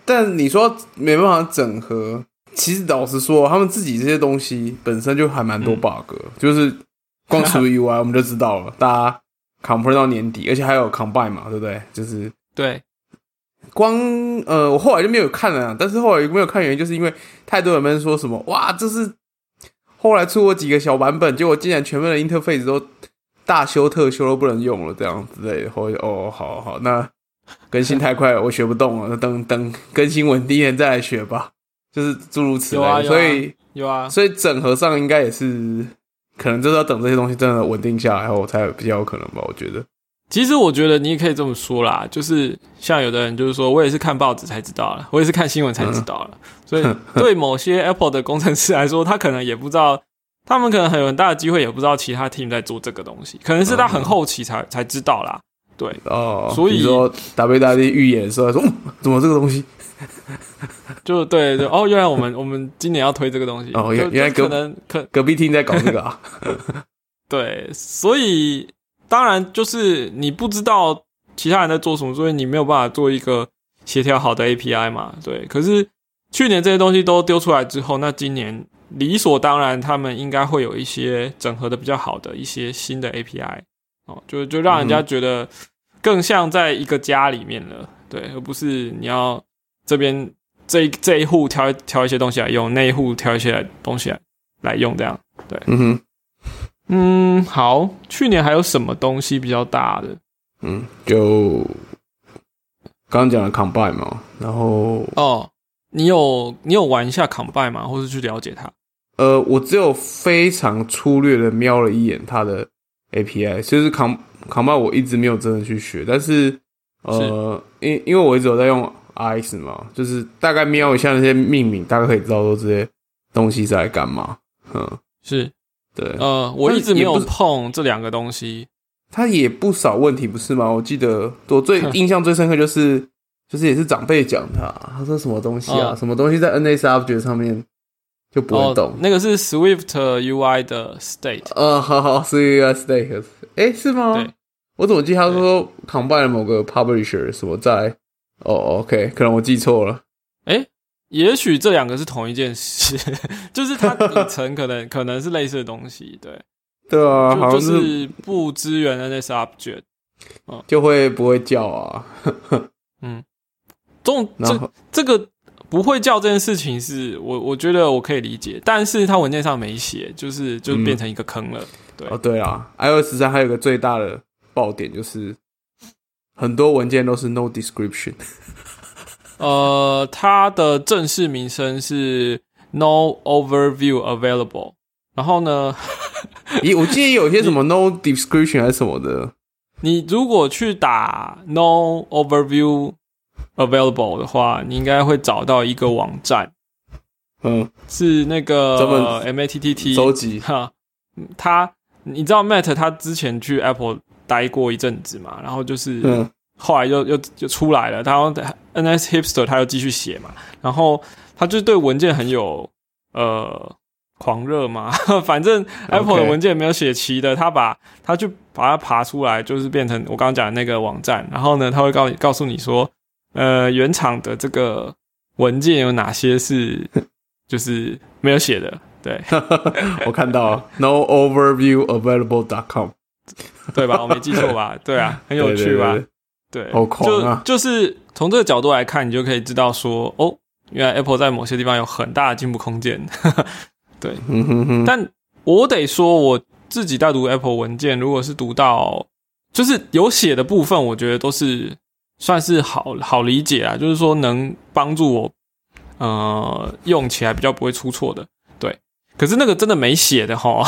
[SPEAKER 2] 但你说没办法整合，其实老实说，他们自己这些东西本身就还蛮多 bug，、嗯、就是光除 U I 我们就知道了，大家 compare 到年底，而且还有 combine 嘛，对不对？就是
[SPEAKER 1] 对。
[SPEAKER 2] 光呃，我后来就没有看了，但是后来没有看原因，就是因为太多人们说什么哇，这是后来出过几个小版本，结果竟然全部的 interface 都大修特修都不能用了，这样之类的。后来哦，好好，那更新太快了，我学不动了，那等等更新稳定一点再来学吧，就是诸如此类的。
[SPEAKER 1] 有啊，有啊，
[SPEAKER 2] 所以
[SPEAKER 1] 有啊，
[SPEAKER 2] 所以整合上应该也是可能就是要等这些东西真的稳定下来后才比较有可能吧，我觉得。
[SPEAKER 1] 其实我觉得你也可以这么说啦，就是像有的人就是说我也是看报纸才知道了，我也是看新闻才知道了、嗯、所以对某些 Apple 的工程师来说，他可能也不知道，他们可能很有很大的机会也不知道其他 team 在做这个东西，可能是他很后期才、嗯、才知道啦。对
[SPEAKER 2] 哦，
[SPEAKER 1] 所以
[SPEAKER 2] 你说 W W D 预演的时候说、嗯、怎么这个东西
[SPEAKER 1] 就对对哦，原来我们我们今年要推这个东西
[SPEAKER 2] 哦，原来
[SPEAKER 1] 可能可
[SPEAKER 2] 隔壁 team 在搞这个啊
[SPEAKER 1] 对，所以当然就是你不知道其他人在做什么，所以你没有办法做一个协调好的 A P I 嘛。对，可是去年这些东西都丢出来之后，那今年理所当然他们应该会有一些整合的比较好的一些新的 A P I 哦，就就让人家觉得更像在一个家里面了，对，而不是你要这边这一这一户挑挑一些东西来用，那一户挑一些东西来来用，这样对，
[SPEAKER 2] 嗯哼。
[SPEAKER 1] 嗯，好，去年还有什么东西比较大的？
[SPEAKER 2] 嗯，就刚刚讲的 Combine 嘛，然后
[SPEAKER 1] 哦，你有你有玩一下 Combine 吗？或是去了解它？
[SPEAKER 2] 呃，我只有非常粗略的瞄了一眼它的 A P I， 就是 Combine 我一直没有真的去学，但是呃，是因因为我一直有在用 R X 嘛，就是大概瞄一下那些命名，大概可以知道说这些东西是在干嘛。嗯，
[SPEAKER 1] 是。
[SPEAKER 2] 对，
[SPEAKER 1] 呃，我一直没有碰这两个东西。
[SPEAKER 2] 它也不少问题，不是吗？我记得我最印象最深刻就是，就是也是长辈讲他，他说什么东西啊，哦、什么东西在 N S Object 上面就不会动。哦、
[SPEAKER 1] 那个是 Swift U I 的 state。
[SPEAKER 2] 呃，好好 ，Swift U I state， 哎，是吗？
[SPEAKER 1] 对，
[SPEAKER 2] 我怎么记得他说 combine 了某个 publisher 什么在？哦 ，OK， 可能我记错了。
[SPEAKER 1] 哎。也许这两个是同一件事，就是它底层可能可能是类似的东西，对，
[SPEAKER 2] 对啊，
[SPEAKER 1] 就
[SPEAKER 2] 好像
[SPEAKER 1] 是, 就是不支援 N S Object，
[SPEAKER 2] 嗯，就会不会叫啊？
[SPEAKER 1] 嗯，这种这这个不会叫这件事情是我我觉得我可以理解，但是它文件上没写，就是就变成一个坑了。嗯、对
[SPEAKER 2] 哦，对啊 ，iOS 十三还有一个最大的爆点就是很多文件都是 no description。
[SPEAKER 1] 呃，它的正式名称是 No Overview Available。然后呢，
[SPEAKER 2] 咦，我记得有些什么 No Description 还是什么的。
[SPEAKER 1] 你如果去打 No Overview Available 的话，你应该会找到一个网站，
[SPEAKER 2] 嗯，
[SPEAKER 1] 是那个 M A T T T
[SPEAKER 2] 收集
[SPEAKER 1] 哈。他，你知道 Matt 他之前去 Apple 待过一阵子嘛，然后就是。嗯后来又又就出来了，他 N S Hipster 他又继续写嘛，然后他就对文件很有呃狂热嘛，反正 Apple 的文件没有写齐的，他把他就把它爬出来，就是变成我刚刚讲的那个网站，然后呢，他会告告诉你说，呃，原厂的这个文件有哪些是就是没有写的，对，
[SPEAKER 2] 我看到了 no overview available dot com，
[SPEAKER 1] 对吧？我没记错吧？对啊，很有趣吧？
[SPEAKER 2] 对对对对
[SPEAKER 1] 对，
[SPEAKER 2] 好狂啊！
[SPEAKER 1] 就就是从这个角度来看，你就可以知道说，哦，原来 Apple 在某些地方有很大的进步空间。对，
[SPEAKER 2] 嗯哼哼，
[SPEAKER 1] 但我得说，我自己在读 Apple 文件，如果是读到就是有写的部分，我觉得都是算是好好理解啊，就是说能帮助我呃用起来比较不会出错的。对，可是那个真的没写的齁，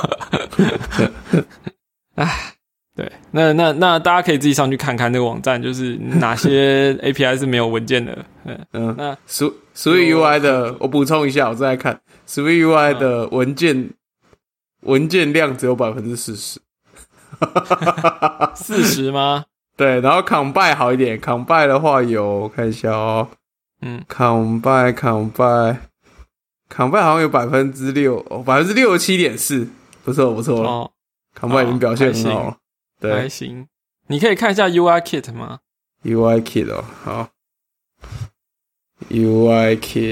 [SPEAKER 1] 唉。对，那那那大家可以自己上去看看那个网站，就是哪些 A P I 是没有文件的。嗯
[SPEAKER 2] 嗯，那 Swift U I 的，我补充一下，我再来看 Swift U I 的文件、嗯、文件量只有百分之四十，
[SPEAKER 1] 四十吗？
[SPEAKER 2] 对，然后 Combine 好一点 ，Combine 的话有，我看一下哦，嗯 ，Combine Combine Combine 好像有百分之六，百分之六十七点四，不错不错了、哦、，Combine 已经表现很好了。对，
[SPEAKER 1] 还行。你可以看一下 U I Kit 吗
[SPEAKER 2] ？U I Kit 哦，好。 U I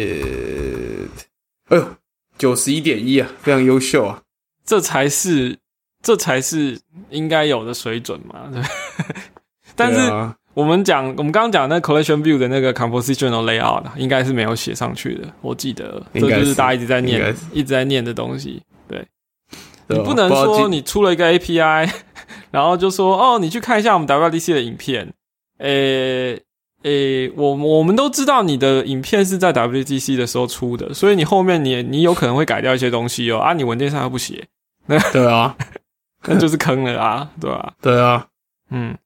[SPEAKER 2] Kit， 哎呦，九十一点一啊，非常优秀啊！
[SPEAKER 1] 这才是这才是应该有的水准嘛，对。但是我们讲，我们刚刚讲那 collection view 的那个 compositional layout 应该是没有写上去的，我记得这就是大家一直在念、一直在念的东西。对，你不能说你出了一个 A P I， 然后就说哦，你去看一下我们 W W D C 的影片，诶。诶，我我们都知道你的影片是在 W W D C 的时候出的，所以你后面你你有可能会改掉一些东西哦。啊，你文件上又不写，那
[SPEAKER 2] 对啊，
[SPEAKER 1] 那就是坑了啊，对吧、啊？
[SPEAKER 2] 对啊，
[SPEAKER 1] 嗯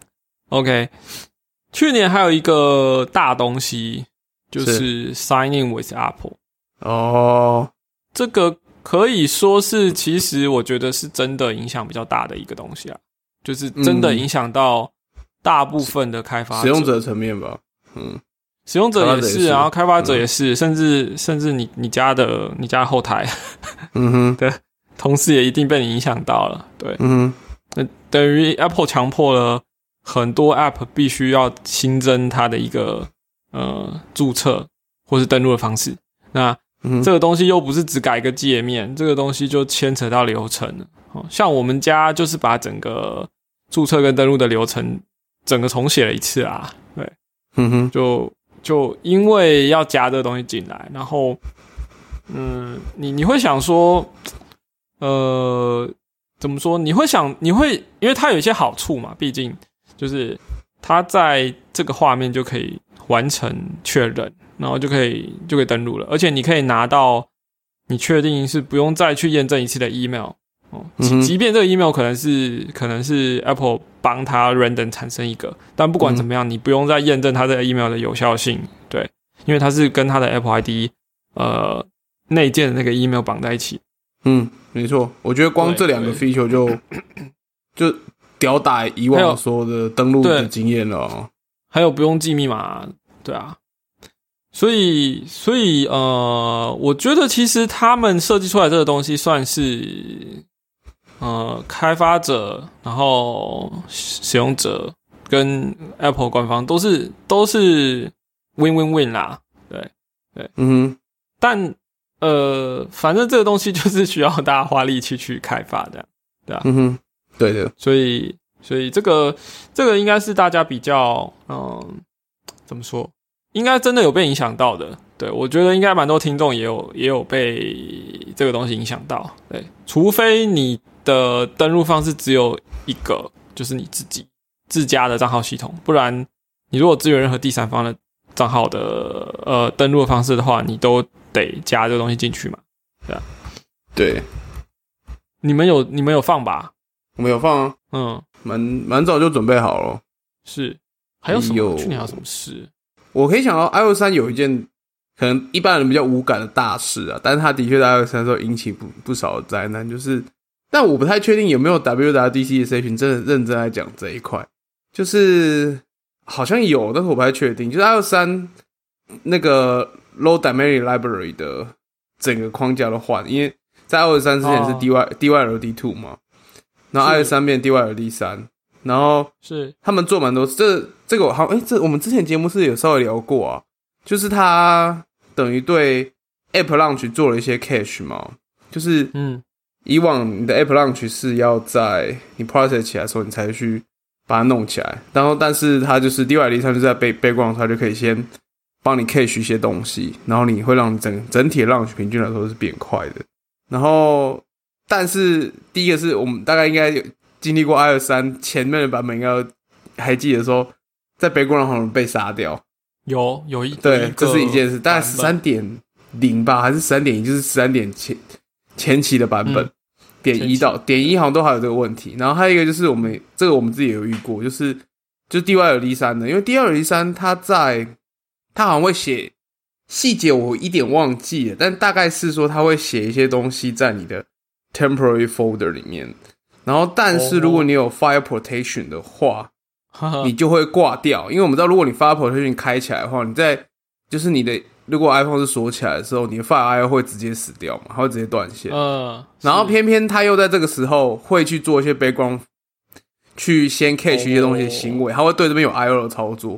[SPEAKER 1] ，OK。去年还有一个大东西，就是 Sign in with Apple。
[SPEAKER 2] 哦，
[SPEAKER 1] 这个可以说是，其实我觉得是真的影响比较大的一个东西啊，就是真的影响到。大部分的开发者
[SPEAKER 2] 使用者层面吧，嗯，
[SPEAKER 1] 使用者也是，然后开发者也是，嗯、甚至甚至你你家的你家后台，
[SPEAKER 2] 嗯哼，
[SPEAKER 1] 对，同事也一定被你影响到了，对，
[SPEAKER 2] 嗯哼，
[SPEAKER 1] 那等于 Apple 强迫了很多 App 必须要新增它的一个呃注册或是登录的方式，那、嗯、这个东西又不是只改一个界面，这个东西就牵扯到流程了，哦，像我们家就是把整个注册跟登录的流程。整个重写了一次啊，对，
[SPEAKER 2] 嗯哼，
[SPEAKER 1] 就就因为要加这个东西进来，然后，嗯，你你会想说，呃，怎么说？你会想，你会，因为它有一些好处嘛，毕竟就是它在这个画面就可以完成确认，然后就可以就可以登录了，而且你可以拿到你确定是不用再去验证一次的 email。哦，即便这个 email 可能是可能是 Apple 帮他 random 产生一个，但不管怎么样，嗯、你不用再验证它这个 email 的有效性，对，因为它是跟它的 Apple I D 呃内建的那个 email 绑在一起。
[SPEAKER 2] 嗯，没错，我觉得光这两个 feature 就就屌打以往所有的登录的经验了、哦。
[SPEAKER 1] 还有不用记密码，对啊。所以，所以呃，我觉得其实他们设计出来这个东西算是。呃，开发者，然后使用者跟 Apple 官方都是都是 win win win 啦，对对，
[SPEAKER 2] 嗯哼，
[SPEAKER 1] 但呃，反正这个东西就是需要大家花力气去开发的，对啊，
[SPEAKER 2] 嗯哼，对的，
[SPEAKER 1] 所以所以这个这个应该是大家比较嗯、呃，怎么说，应该真的有被影响到的。对，我觉得应该蛮多听众也有也有被这个东西影响到，对，除非你的登录方式只有一个，就是你自己自家的账号系统，不然你如果支援任何第三方的账号的呃登录的方式的话，你都得加这个东西进去嘛，对啊，
[SPEAKER 2] 对，
[SPEAKER 1] 你们有你们有放吧？
[SPEAKER 2] 我们有放啊，
[SPEAKER 1] 嗯，
[SPEAKER 2] 蛮蛮早就准备好了，
[SPEAKER 1] 是，还有什么？去年还有什么事？
[SPEAKER 2] 我可以想到 iOS 三有一件。可能一般人比较无感的大事啊，但是它的确在 iOS 三的时候引起不不少的灾难，就是，但我不太确定有没有 W W D C 的社群真的认真来讲这一块，就是好像有，但是我不太确定，就是 iOS 三那个 Low Dynamic Library 的整个框架都换，因为在 iOS 三之前是 D Y、哦、D Y L D 二 嘛，然后 iOS 三变 D Y L D 三，然后
[SPEAKER 1] 是他
[SPEAKER 2] 们做蛮多，这这个好，哎、欸，这我们之前节目是有稍微聊过啊。就是它等于对 App Launch 做了一些 cache 嘛，就是嗯，以往你的 App Launch 是要在你 process 起来的时候你才去把它弄起来，然后但是它就是 D Y L D 三就在 background 它就可以先帮你 cache 一些东西，然后你会让整整体的 launch 平均来说是变快的。然后但是第一个是我们大概应该有经历过 iOS 三前面的版本，应该还记得说在 background 好像被杀掉。
[SPEAKER 1] 有有一
[SPEAKER 2] 对，这是一件事，大概 十三点零 吧，还是 十三点一，就是十三点前前期的版本，嗯、点一到点一好像都还有这个问题。然后还有一个就是我们这个我们自己也有遇过，就是就是 D Y L D 三的，因为 D Y L D 三它在它好像会写细节，我一点忘记了，但大概是说它会写一些东西在你的 temporary folder 里面，然后但是如果你有 fire protection 的话。你就会挂掉，因为我们知道，如果你 Fire Protection 开起来的话，你在就是你的如果 iPhone 是锁起来的时候，你的 Fire I O 会直接死掉嘛，它会直接断线。
[SPEAKER 1] 嗯，
[SPEAKER 2] 然后偏偏它又在这个时候会去做一些 background，去先 cache 一些东西的行为，它会对这边有 I O 的操作，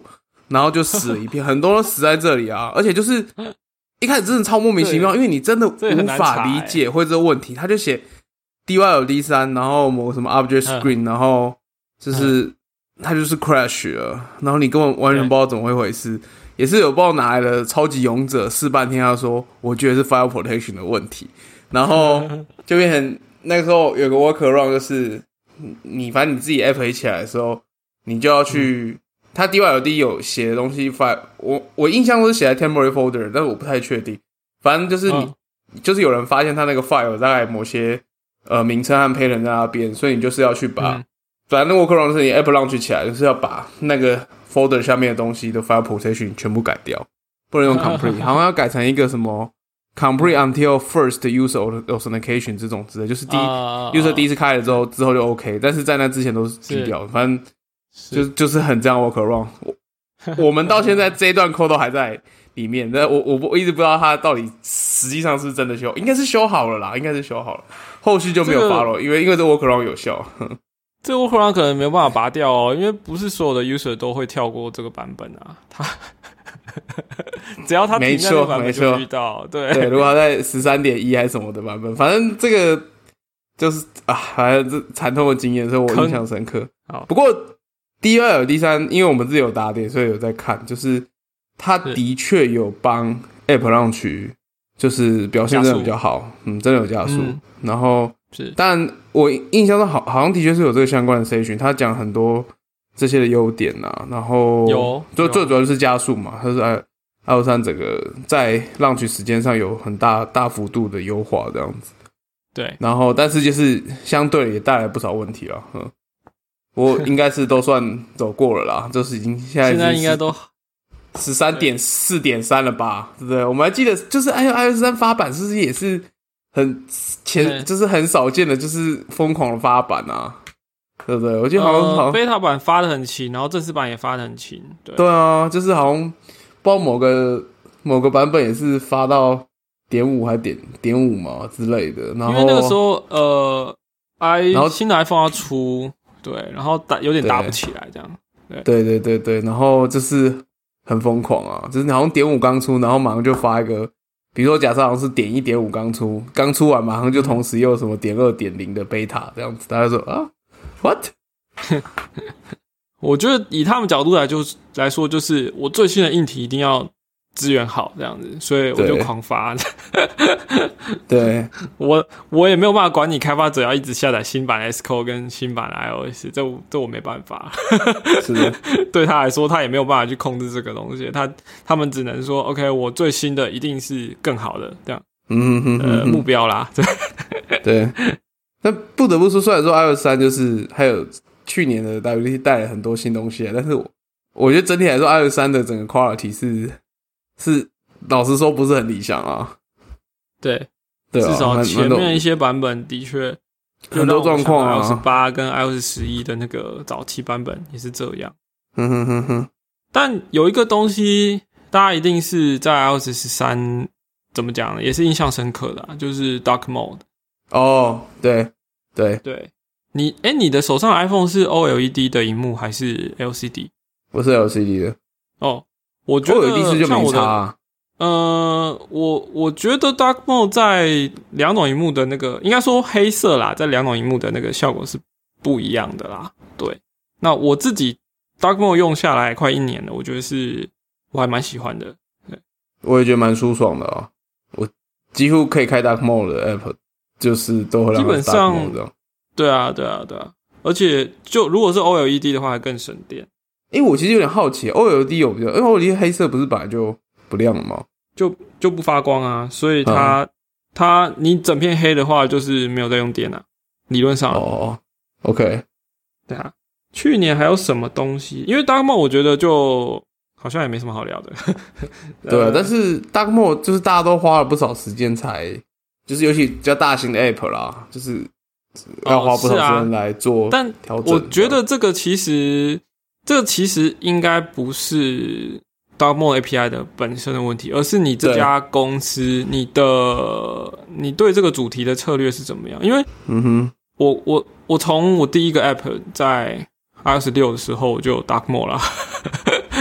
[SPEAKER 2] 然后就死了一片，很多都死在这里啊，而且就是一开始真的超莫名其妙，因为你真的无法理解会这个问题，他就写 D Y L D 三，然后某个什么 object screen，、嗯、然后就是他就是 crash 了，然后你根本完全不知道怎么会回事，也是有不知道哪来的超级勇者试半天，他说我觉得是 file protection 的问题，然后就变成那个时候有个 workaround 就是你反正你自己 app 起来的时候，你就要去。嗯他 D Y L D 有写的东西 file， 我我印象都是写在 temporary folder， 但是我不太确定。反正就是你、嗯，就是有人发现他那个 file 大概某些呃名称和 pattern 在那边，所以你就是要去把，嗯、反正 workaround 是你 app launch 起来，就是要把那个 folder 下面的东西的 file protection 全部改掉，不能用 complete， 好像要改成一个什么 complete until first user authentication 这种之类，就是第一、uh, user 第一次开了之后，之后就 OK， 但是在那之前都是低调，反正。就就是很这样 workaround， 我我们到现在这一段 code 都还在里面，但我我我一直不知道它到底实际上是真的修，应该是修好了啦，应该是修好了，后续就没有 follow，、这個、因为因为这 workaround 有效。
[SPEAKER 1] 这个 workaround 可能没有办法拔掉哦，因为不是所有的 user 都会跳过这个版本啊，他只要他停在那个版本就遇到，对
[SPEAKER 2] 对，如果他在 十三点一 还是什么的版本，反正这个就是啊，反正这惨痛的经验，所以我印象深刻。好，不过。D Y L D 三，因为我们自己有打点，所以有在看，就是它的确有帮 App Launch， 就是表现真的比较好，嗯，真的有加速。嗯、然后，是，但我印象中好好像的确是有这个相关的 section， 他讲很多这些的优点啊，然后
[SPEAKER 1] 有，
[SPEAKER 2] 就最主要就是加速嘛，它是 i O 三整个在 Launch 时间上有很大大幅度的优化这样子。
[SPEAKER 1] 对，
[SPEAKER 2] 然后但是就是相对也带来不少问题了，嗯。我应该是都算走过了啦，就是已经现在
[SPEAKER 1] 现在应该都
[SPEAKER 2] 十三点四点三 了吧，对不对？我们还记得就是 i O S 三发版是不是也是很前，就是很少见的，就是疯狂的发版啊，对不对？我记得好像好像
[SPEAKER 1] beta 版发的很勤，然后正式版也发的很勤，对
[SPEAKER 2] 对啊，就是好像不知道某个某个版本也是发到点五还点点五嘛之类的，然后
[SPEAKER 1] 因为那个时候呃 i 然后新的 iPhone 要出。对，然后打有点打不起来，这样。对
[SPEAKER 2] 对对对对，然后就是很疯狂啊，就是好像点五刚出，然后马上就发一个，比如说假设好像是点一点五刚出，刚出完马上就同时又有什么点二点零的 beta 这样子，大家说啊 ，what？
[SPEAKER 1] 我觉得以他们角度来就来说，就是我最新的硬体一定要资源好这样子，所以我就狂发。
[SPEAKER 2] 对，
[SPEAKER 1] 我我也没有办法管你开发者要一直下载新版 Xcode 跟新版的 iOS， 这这我没办法。
[SPEAKER 2] 是的，
[SPEAKER 1] 对他来说，他也没有办法去控制这个东西，他他们只能说 ，OK， 我最新的一定是更好的这样，
[SPEAKER 2] 嗯哼哼
[SPEAKER 1] 呃目标啦。对
[SPEAKER 2] 对，但不得不说，虽然说 iOS 三就是还有去年的 W W D C 带了很多新东西，但是我我觉得整体来说 iOS 三的整个 quality 是是老实说不是很理想啊。
[SPEAKER 1] 对。
[SPEAKER 2] 对啊，
[SPEAKER 1] 至少前面一些版本的确
[SPEAKER 2] 很多状况啊
[SPEAKER 1] ，iOS 八跟 iOS 十一的那个早期版本也是这样。
[SPEAKER 2] 哼哼哼哼。
[SPEAKER 1] 但有一个东西，大家一定是在 iOS 十三怎么讲呢？也是印象深刻的、啊，就是 Dark Mode。
[SPEAKER 2] 哦，对对
[SPEAKER 1] 对，你哎、欸，你的手上的 iPhone 是 O L E D 的萤幕还是 L C D？
[SPEAKER 2] 不是 L C D 的。
[SPEAKER 1] 哦，我觉得
[SPEAKER 2] O L E D 是就没差、啊。
[SPEAKER 1] 呃，我我觉得 Dark Mode 在两种萤幕的那个，应该说黑色啦，在两种萤幕的那个效果是不一样的啦。对，那我自己 Dark Mode 用下来快一年了，我觉得是我还蛮喜欢的。对，
[SPEAKER 2] 我也觉得蛮舒爽的啊。我几乎可以开 Dark Mode 的 App， 就是都会让它 Dark Mode 这样。基本上，
[SPEAKER 1] 对啊，对啊，对啊。而且就如果是 O L E D 的话，还更省电。
[SPEAKER 2] 因为我其实有点好奇 ，O L E D 有比较，因为 O L E D 黑色不是本来就不亮了吗？
[SPEAKER 1] 就就不发光啊，所以它、嗯、它你整片黑的话，就是没有在用电啊，理论上。
[SPEAKER 2] 哦 ，OK，
[SPEAKER 1] 对啊。去年还有什么东西？因为 Dark Mode 我觉得就好像也没什么好聊的。
[SPEAKER 2] 对啊，但是 Dark Mode 就是大家都花了不少时间才，就是尤其比较大型的 App 啦，就是要花不少时间来做调整、哦啊。但
[SPEAKER 1] 我觉得这个其实，这个其实应该不是Dark Mode A P I 的本身的问题，而是你这家公司你的你对这个主题的策略是怎么样？因为，
[SPEAKER 2] 嗯哼，
[SPEAKER 1] 我我我从我第一个 App 在 iOS 六的时候我就有 Dark Mode 啦，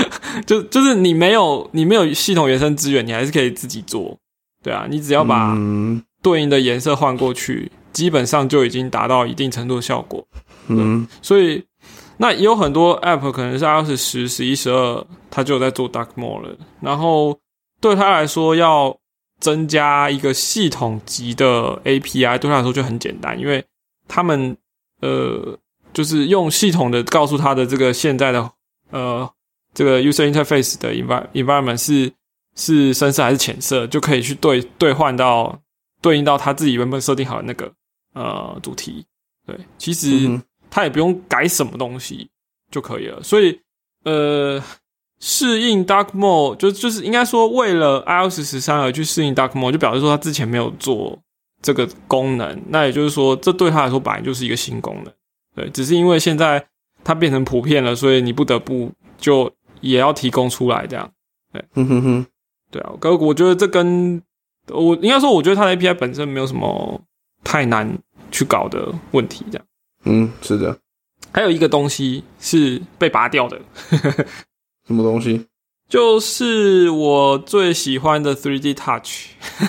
[SPEAKER 1] 就就是你没有你没有系统原生资源，你还是可以自己做，对啊，你只要把对应的颜色换过去，基本上就已经达到一定程度的效果。嗯，所以那也有很多 App 可能是 iOS 十、十一、十二，它就有在做 Dark Mode 了。然后对他来说，要增加一个系统级的 A P I， 对他来说就很简单，因为他们呃就是用系统的告诉他的这个现在的呃这个 user interface 的 environment 是是深色还是浅色，就可以去对兑换到对应到他自己原本设定好的那个呃主题。对，其实他也不用改什么东西就可以了。所以呃适应 Dark Mode 就就是应该说为了 iOS 十三而去适应 Dark Mode， 就表示说他之前没有做这个功能，那也就是说这对他来说本来就是一个新功能。对，只是因为现在它变成普遍了，所以你不得不就也要提供出来这样。对，嗯哼哼，对啊，可我觉得这跟我应该说，我觉得它的 A P I 本身没有什么太难去搞的问题，这样。
[SPEAKER 2] 嗯，是的。
[SPEAKER 1] 还有一个东西是被拔掉的，
[SPEAKER 2] 什么东西？
[SPEAKER 1] 就是我最喜欢的 三 D Touch。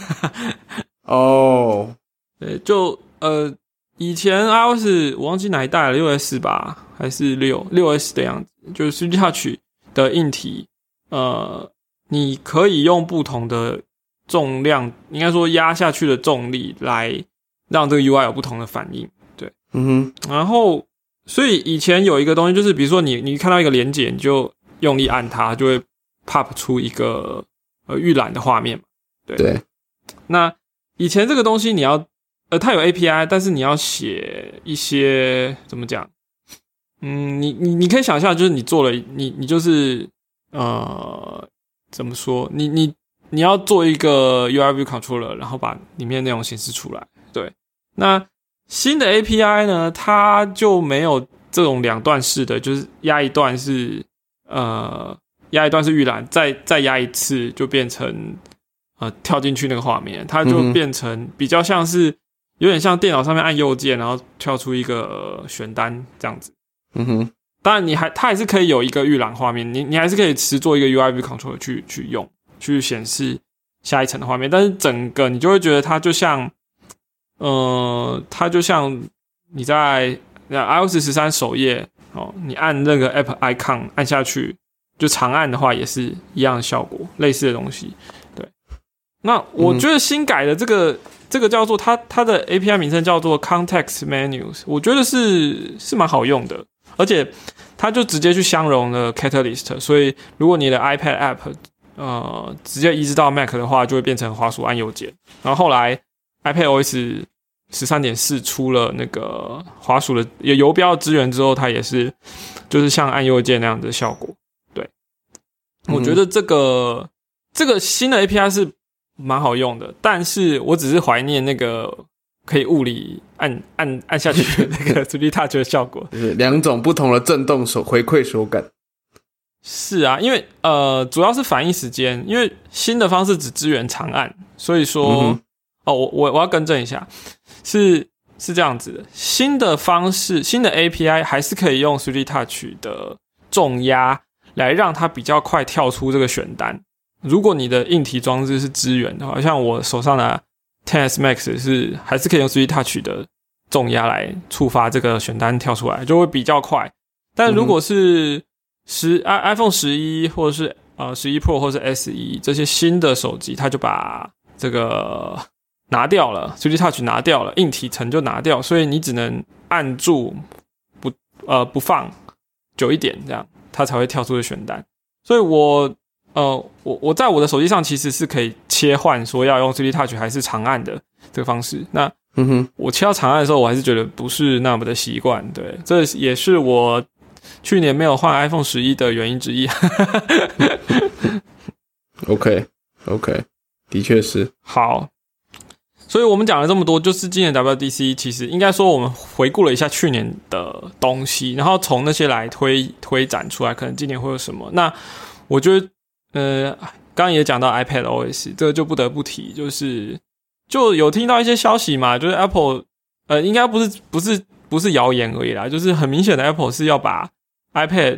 [SPEAKER 2] 哦，
[SPEAKER 1] 对，就呃，以前 iOS 我忘记哪一代了， 六 S 吧，还是六 六 S 的样子，就是 三 D Touch 的硬体，呃，你可以用不同的重量，应该说压下去的重力来让这个 U I 有不同的反应。对，嗯哼，然后所以以前有一个东西，就是比如说你你看到一个连结，你就用力按它，就会 pop 出一个呃预览的画面嘛。对，
[SPEAKER 2] 对，
[SPEAKER 1] 那以前这个东西你要呃它有 A P I， 但是你要写一些怎么讲？嗯，你你你可以想象，就是你做了你你就是呃怎么说？你你你要做一个 U I View Controller， 然后把里面内容显示出来。对，那新的 A P I 呢，它就没有这种两段式的，就是压一段是呃压一段是预览，再再压一次就变成呃跳进去那个画面，它就变成比较像是有点像电脑上面按右键，然后跳出一个、呃、选单这样子。嗯哼，当然你还它还是可以有一个预览画面，你你还是可以持做一个 U I View Controller 去去用去显示下一层的画面，但是整个你就会觉得它就像。呃，它就像你在 iOS 十三首页哦，你按那个 App Icon 按下去，就长按的话也是一样的效果，类似的东西。对，那我觉得新改的这个、嗯、这个叫做它它的 A P I 名称叫做 Context Menus， 我觉得是是蛮好用的，而且它就直接去相容了 Catalyst， 所以如果你的 iPad App 呃直接移植到 Mac 的话，就会变成滑鼠按右键，然后后来。iPadOS 十三点四 出了那个滑鼠的游标资源之后，它也是就是像按右键那样的效果。对，我觉得这个、嗯、这个新的 A P I 是蛮好用的，但是我只是怀念那个可以物理按按按下去的那个 三 D Touch 的效果，
[SPEAKER 2] 就是两种不同的震动手回馈手感。
[SPEAKER 1] 是啊，因为呃主要是反应时间，因为新的方式只支援长按，所以说。嗯哦，我我我要更正一下，是是这样子的，新的方式，新的 A P I 还是可以用 三 D Touch 的重压来让它比较快跳出这个选单。如果你的硬体装置是支援的话，像我手上的 X S Max 是还是可以用 三 D Touch 的重压来触发这个选单跳出来，就会比较快。但如果是十、嗯、iPhone 十一或者是呃十一 Pro 或者是 S 一 这些新的手机，它就把这个拿掉了 三 D Touch 拿掉了，硬体层就拿掉，所以你只能按住不呃不放久一点，这样它才会跳出的选单。所以我呃我我在我的手机上其实是可以切换说要用 三 D Touch 还是长按的这个方式。那嗯哼，我切到长按的时候，我还是觉得不是那么的习惯。对，这也是我去年没有换 iPhone 十一的原因之一。
[SPEAKER 2] OK OK， 的确是
[SPEAKER 1] 好。所以我们讲了这么多，就是今年 W W D C 其实应该说我们回顾了一下去年的东西，然后从那些来推推展出来，可能今年会有什么。那我觉得，呃，刚刚也讲到 iPadOS， 这个就不得不提，就是就有听到一些消息嘛，就是 Apple， 呃，应该不是不是不是谣言而已啦，就是很明显的 Apple 是要把 iPad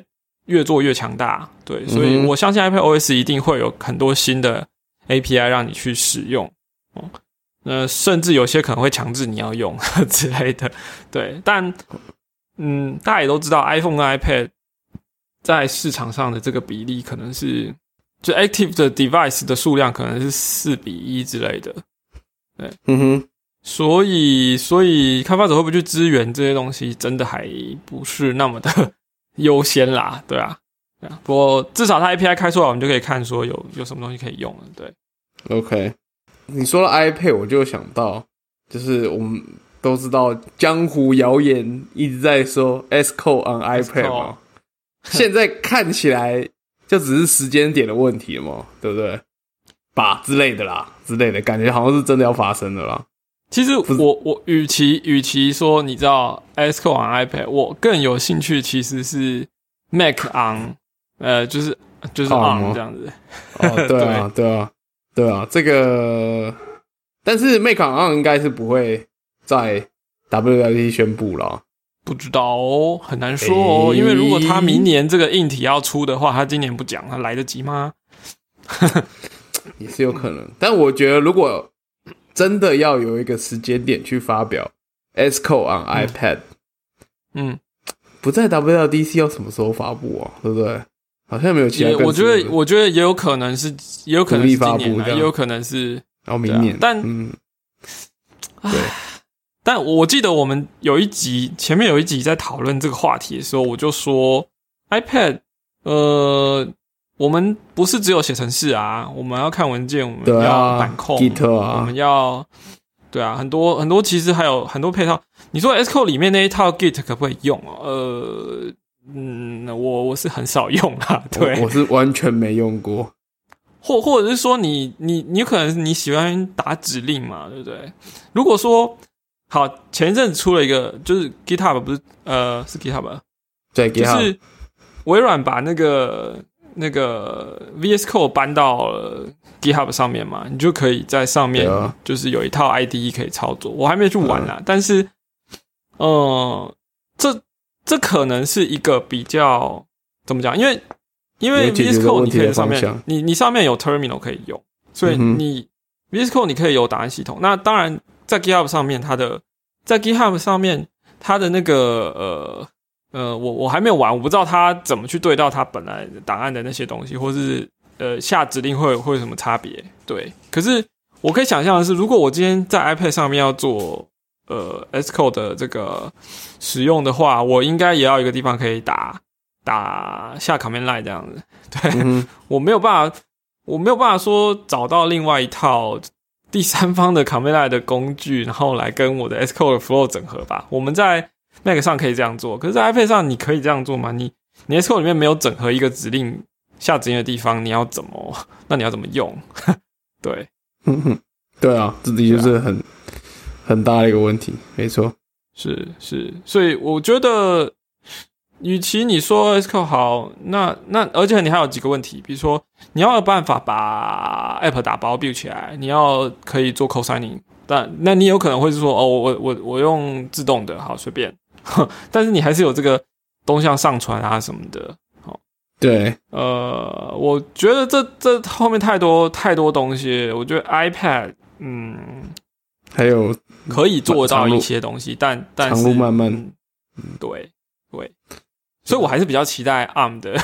[SPEAKER 1] 越做越强大，对，所以我相信 iPadOS 一定会有很多新的 A P I 让你去使用，哦，呃，甚至有些可能会强制你要用之类的，对，但嗯，大家也都知道 iPhone 跟 iPad 在市场上的这个比例可能是，就 active 的 device 的数量可能是四比一之类的，对，
[SPEAKER 2] 嗯哼，
[SPEAKER 1] 所以所以开发者会不会去支援这些东西，真的还不是那么的优先啦，对啊，对啊，不过至少它 A P I 开出来，我们就可以看说有有什么东西可以用了，对。
[SPEAKER 2] OK， 你说了 iPad， 我就想到，就是我们都知道江湖谣言一直在说 Xcode on iPad 嘛，现在看起来就只是时间点的问题了嘛，对不对？吧之类的啦，之类的感觉好像是真的要发生的啦。
[SPEAKER 1] 其实我我与其与其说你知道 Xcode on iPad， 我更有兴趣其实是 Mac on， 呃，就是就是 on 这样子。
[SPEAKER 2] 哦，对啊，对啊，对啊，这个，但是 Mac on 应该是不会在 W W D C 宣布啦。
[SPEAKER 1] 不知道哦，很难说哦，欸、因为如果他明年这个硬体要出的话，他今年不讲，他来得及吗？
[SPEAKER 2] 也是有可能，但我觉得如果真的要有一个时间点去发表 Xcode on iPad， 嗯，嗯不在 W W D C 要什么时候发布啊？对不对？好像没有其他更。
[SPEAKER 1] 我觉得，我觉得也有可能是，也有可能是今年啊，也有可能是，
[SPEAKER 2] 然后明年。啊、
[SPEAKER 1] 但，
[SPEAKER 2] 嗯，
[SPEAKER 1] 对。但我记得我们有一集前面有一集在讨论这个话题的时候，我就说 iPad， 呃，我们不是只有写程式啊，我们要看文件，我们要板控，
[SPEAKER 2] 啊、
[SPEAKER 1] 我们要对啊，很多很多其实还有很多配套。你说 Xcode 里面那一套 Git 可不可以用？呃，嗯，我我是很少用啦，对，
[SPEAKER 2] 我, 我是完全没用过。
[SPEAKER 1] 或或者是说你你你可能你喜欢打指令嘛，对不对？如果说好，前一阵子出了一个，就是 GitHub 不是呃是 GitHub，
[SPEAKER 2] 对，
[SPEAKER 1] 就是微软把那个那个 V S Code 搬到了 GitHub 上面嘛，你就可以在上面就是有一套 I D E 可以操作。我还没去玩啦，嗯、但是呃，这这可能是一个比较怎么讲？因为因为 V S Code 你可以在上面，你你上面有 Terminal 可以用，所以你、嗯、V S Code 你可以有档案系统。那当然。在 GitHub 上面，它的在 GitHub 上面，它的那个呃呃，我我还没有玩，我不知道它怎么去对到它本来档案的那些东西，或是呃下指令会会有什么差别？对，可是我可以想象的是，如果我今天在 iPad 上面要做呃 Xcode 的这个使用的话，我应该也要有一个地方可以打打下 command line 这样子。对，嗯、我没有办法，我没有办法说找到另外一套。第三方的 command line 的工具，然后来跟我的 Xcode 的 flow 整合吧。我们在 Mac 上可以这样做，可是在 iPad 上你可以这样做吗？你你 Xcode 里面没有整合一个指令下指令的地方，你要怎么？那你要怎么用？对，
[SPEAKER 2] 对啊，这的确是很、啊、很大的一个问题，没错，
[SPEAKER 1] 是是，所以我觉得。与其你说 Xcode 好，那那而且你还有几个问题，比如说你要有办法把 App 打包 build 起来，你要可以做 co-signing， 但那你有可能会是说哦，我我我用自动的，好随便，但是你还是有这个东西要上传啊什么的，好，
[SPEAKER 2] 对，
[SPEAKER 1] 呃，我觉得这这后面太多太多东西，我觉得 iPad 嗯
[SPEAKER 2] 还有
[SPEAKER 1] 可以做到一些东西，但但是
[SPEAKER 2] 长路漫漫，
[SPEAKER 1] 嗯，对对。所以我还是比较期待 A R M 的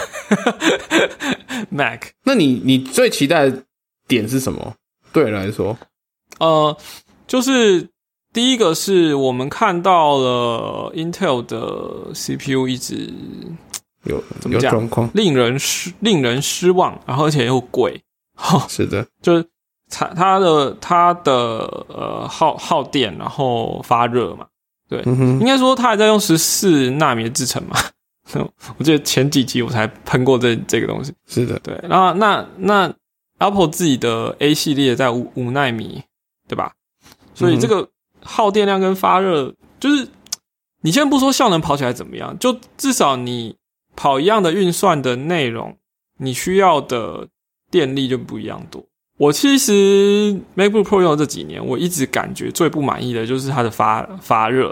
[SPEAKER 1] Mac。
[SPEAKER 2] 那你你最期待的点是什么？对你来说，
[SPEAKER 1] 呃，就是第一个是我们看到了 Intel 的 C P U 一直
[SPEAKER 2] 有有状况，
[SPEAKER 1] 令人失令人失望，然后而且又贵。
[SPEAKER 2] 是的，
[SPEAKER 1] 就是它它的它的呃耗耗电，然后发热嘛。对，嗯、应该说它还在用十四纳米的制程嘛。我记得前几集我才喷过这这个东西，
[SPEAKER 2] 是的，
[SPEAKER 1] 对。然后那那 Apple 自己的 A 系列在五五纳米，对吧？所以这个耗电量跟发热，就是你先不说效能跑起来怎么样，就至少你跑一样的运算的内容，你需要的电力就不一样多。我其实 MacBook Pro 用的这几年，我一直感觉最不满意的就是它的发发热。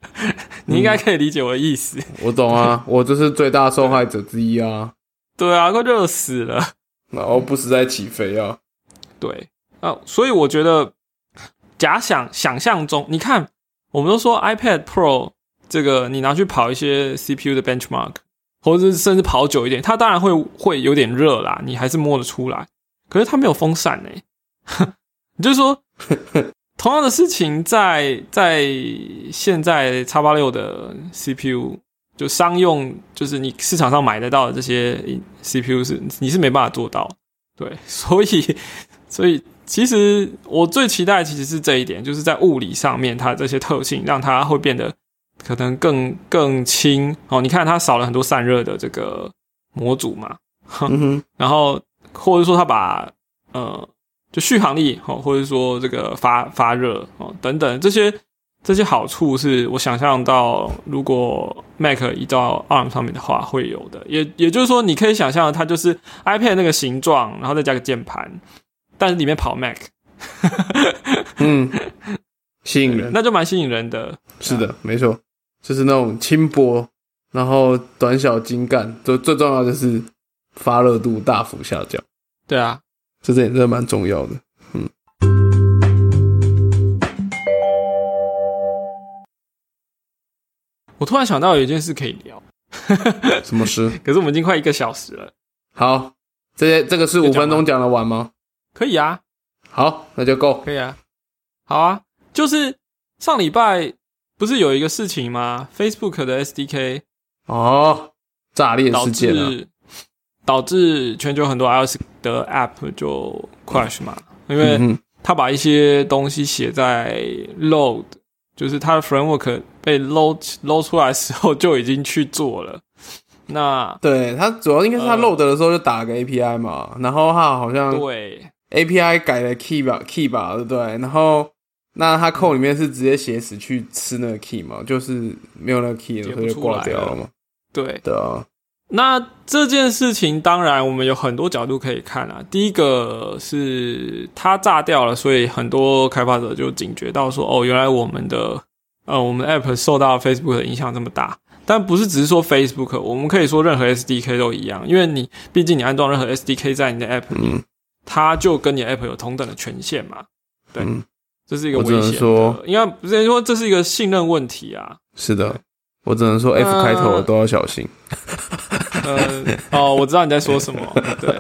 [SPEAKER 1] 你应该可以理解我的意思。嗯、
[SPEAKER 2] 我懂啊，我就是最大受害者之一啊。
[SPEAKER 1] 对啊，快热死了，
[SPEAKER 2] 然后不时在起飞啊。
[SPEAKER 1] 对啊，所以我觉得假想想象中，你看，我们都说 iPad Pro 这个你拿去跑一些 C P U 的 benchmark， 或者是甚至跑久一点，它当然会会有点热啦，你还是摸得出来。可是它没有风扇欸，你就说同样的事情在在现在 X 八十六 的 C P U。就商用，就是你市场上买得到的这些 C P U 是你是没办法做到，对，所以所以其实我最期待的其实是这一点，就是在物理上面它的这些特性让它会变得可能更更轻哦。你看它少了很多散热的这个模组嘛，嗯哼，然后或者说它把呃就续航力哦，或者说这个发发热哦等等这些。这些好处是我想象到，如果 Mac 移到 A R M 上面的话会有的，也也就是说，你可以想象它就是 iPad 那个形状，然后再加个键盘，但是里面跑 Mac，
[SPEAKER 2] 嗯，吸引人，
[SPEAKER 1] 那就蛮吸引人的。
[SPEAKER 2] 是的，没错，就是那种轻薄，然后短小精干，最最重要的就是发热度大幅下降。
[SPEAKER 1] 对啊，
[SPEAKER 2] 这点真的蛮重要的。嗯。
[SPEAKER 1] 我突然想到有一件事可以聊，
[SPEAKER 2] 什么事？
[SPEAKER 1] 可是我们已经快一个小时了。
[SPEAKER 2] 好，这些这个是五分钟讲得完吗？
[SPEAKER 1] 可以啊。
[SPEAKER 2] 好，那就够。
[SPEAKER 1] 可以啊。好啊，就是上礼拜不是有一个事情吗 ？Facebook 的 S D K
[SPEAKER 2] 哦，炸裂事件啊，
[SPEAKER 1] 导致全球很多 iOS 的 App 就 crash 嘛，因为他把一些东西写在 load。就是它的 framework 被 load load 出来的时候就已经去做了。那
[SPEAKER 2] 对它主要应该是它 load 的时候就打了个 A P I 嘛，呃、然后它好像
[SPEAKER 1] 对
[SPEAKER 2] A P I 改了 key 吧 key 吧，对不对？然后那它 code 里面是直接写死去吃那个 key 嘛，就是没有那个 key 的时候就挂掉了嘛。
[SPEAKER 1] 对
[SPEAKER 2] 对啊。
[SPEAKER 1] 那这件事情当然我们有很多角度可以看啊。第一个是它炸掉了，所以很多开发者就警觉到说，哦，原来我们的呃我们 App 受到 Facebook 的影响这么大。但不是只是说 Facebook， 我们可以说任何 S D K 都一样，因为你毕竟你安装任何 S D K 在你的 App 里，嗯、它就跟你的 App 有同等的权限嘛。对，嗯、这是一个危险的，应该不是说这是一个信任问题啊。
[SPEAKER 2] 是的。我只能说 F 开头的都要小心。
[SPEAKER 1] 呃，哦，我知道你在说什么。对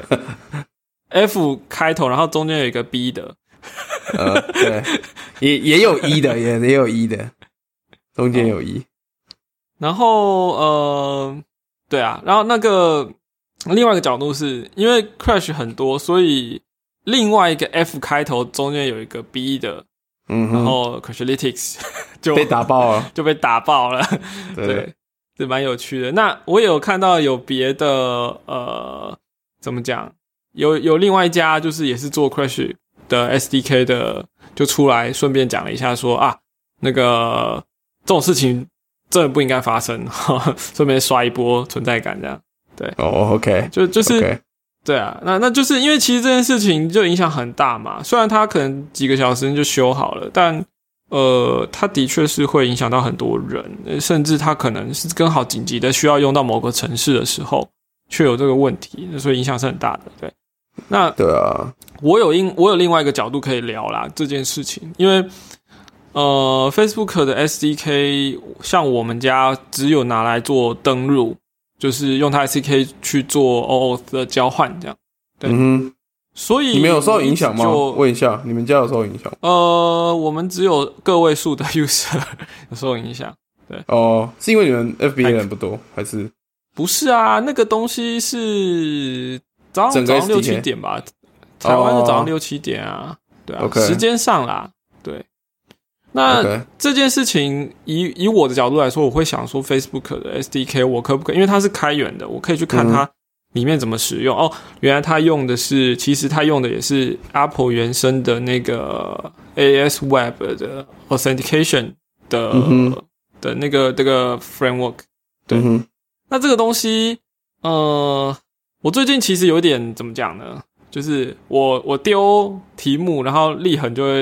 [SPEAKER 1] ，F 开头，然后中间有一个 B 的。
[SPEAKER 2] 呃，对，也也有 E 的，也也有 E 的，中间有 E。
[SPEAKER 1] 然后呃，对啊，然后那个另外一个角度是因为 crash 很多，所以另外一个 F 开头中间有一个 B 的。嗯，然后 Crashlytics 就
[SPEAKER 2] 被打爆了，
[SPEAKER 1] 就被打爆了。对，对，是蛮有趣的。那我也有看到有别的，呃，怎么讲？有有另外一家就是也是做 Crash 的 S D K 的，就出来顺便讲了一下说啊，那个这种事情真的不应该发生，顺便刷一波存在感这样。对，
[SPEAKER 2] 哦 ，OK，
[SPEAKER 1] 就就是。
[SPEAKER 2] Okay.
[SPEAKER 1] 对啊，那那就是因为其实这件事情就影响很大嘛。虽然它可能几个小时就修好了，但呃，它的确是会影响到很多人，甚至它可能是刚好紧急的需要用到某个程式的时候，却有这个问题，所以影响是很大的。对，那
[SPEAKER 2] 对啊，
[SPEAKER 1] 我有另我有另外一个角度可以聊啦这件事情，因为呃 ，Facebook 的 S D K 像我们家只有拿来做登入。就是用它 S D K 去做 O Auth 的交换，这样。对，嗯哼，所以
[SPEAKER 2] 你们有受影响吗？问一下，你们家有受影响吗？
[SPEAKER 1] 呃，我们只有个位数的 user 有受影响。对，
[SPEAKER 2] 哦，是因为你们 F B 的人不多，还是？
[SPEAKER 1] 不是啊，那个东西是早上早上六七点吧，台湾的早上六七点啊，对啊，
[SPEAKER 2] okay.
[SPEAKER 1] 时间上啦，对。那
[SPEAKER 2] okay.
[SPEAKER 1] 这件事情以以我的角度来说，我会想说 Facebook 的 S D K 我可不可以，因为它是开源的，我可以去看它里面怎么使用。嗯、哦，原来它用的是，其实它用的也是 Apple 原生的那个 A S Web 的 Authentication 的、嗯、的那个这个 framework。对，嗯、那这个东西，呃，我最近其实有点怎么讲呢？就是我我丢题目，然后立恒就会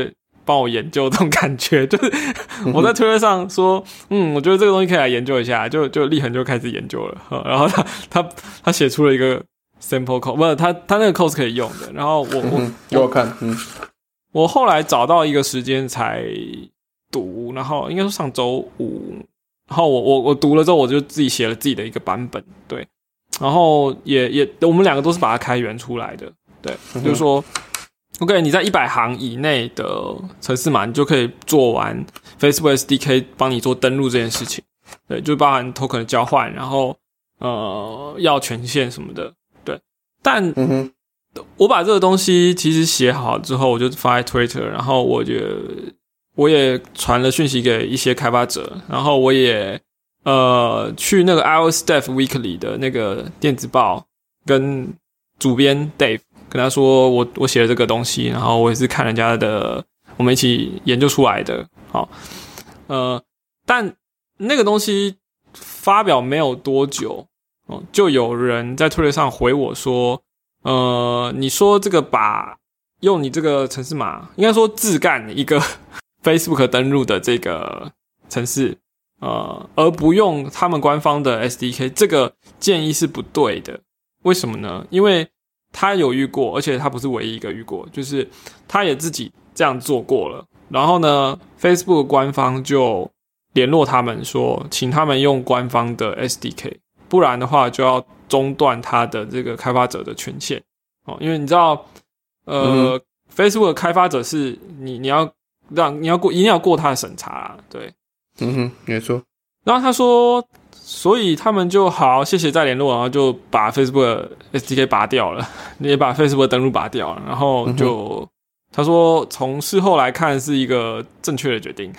[SPEAKER 1] 帮我研究这种感觉，就是我在推特上说，嗯，我觉得这个东西可以来研究一下，就就立恒就开始研究了，然后他他他写出了一个 sample code， 不是他他那个 code 是可以用的，然后我我
[SPEAKER 2] 给我看，嗯，
[SPEAKER 1] 我后来找到一个时间才读，然后应该说上周五，然后我我我读了之后，我就自己写了自己的一个版本，对，然后也也我们两个都是把它开源出来的，对，嗯、就是说 ，OK， 你在一百行以内的程式码，你就可以做完 Facebook S D K 帮你做登录这件事情，对，就包含 token 的交换，然后呃要权限什么的，对，但。嗯我把这个东西其实写好之后，我就放在 Twitter， 然后我就我也传了讯息给一些开发者，然后我也呃去那个 iOS Dev Weekly 的那个电子报跟主编 Dave 跟他说我我写了这个东西，然后我也是看人家的，我们一起研究出来的，好，呃，但那个东西发表没有多久，哦，就有人在 Twitter 上回我说。呃，你说这个把用你这个程式码，应该说自干一个 Facebook 登录的这个程式，呃，而不用他们官方的 S D K， 这个建议是不对的。为什么呢？因为他有遇过，而且他不是唯一一个遇过，就是他也自己这样做过了。然后呢 ，Facebook 官方就联络他们说，请他们用官方的 S D K， 不然的话就要中断他的这个开发者的权限哦，因为你知道，呃、嗯、，Facebook 的开发者是你你要让你要过一定要过他的审查啦，对，
[SPEAKER 2] 嗯哼，没错。
[SPEAKER 1] 然后他说，所以他们就好，谢谢再联络，然后就把 Facebook 的 S D K 拔掉了，也把 Facebook 的登录拔掉了，然后就、嗯、他说从事后来看是一个正确的决定，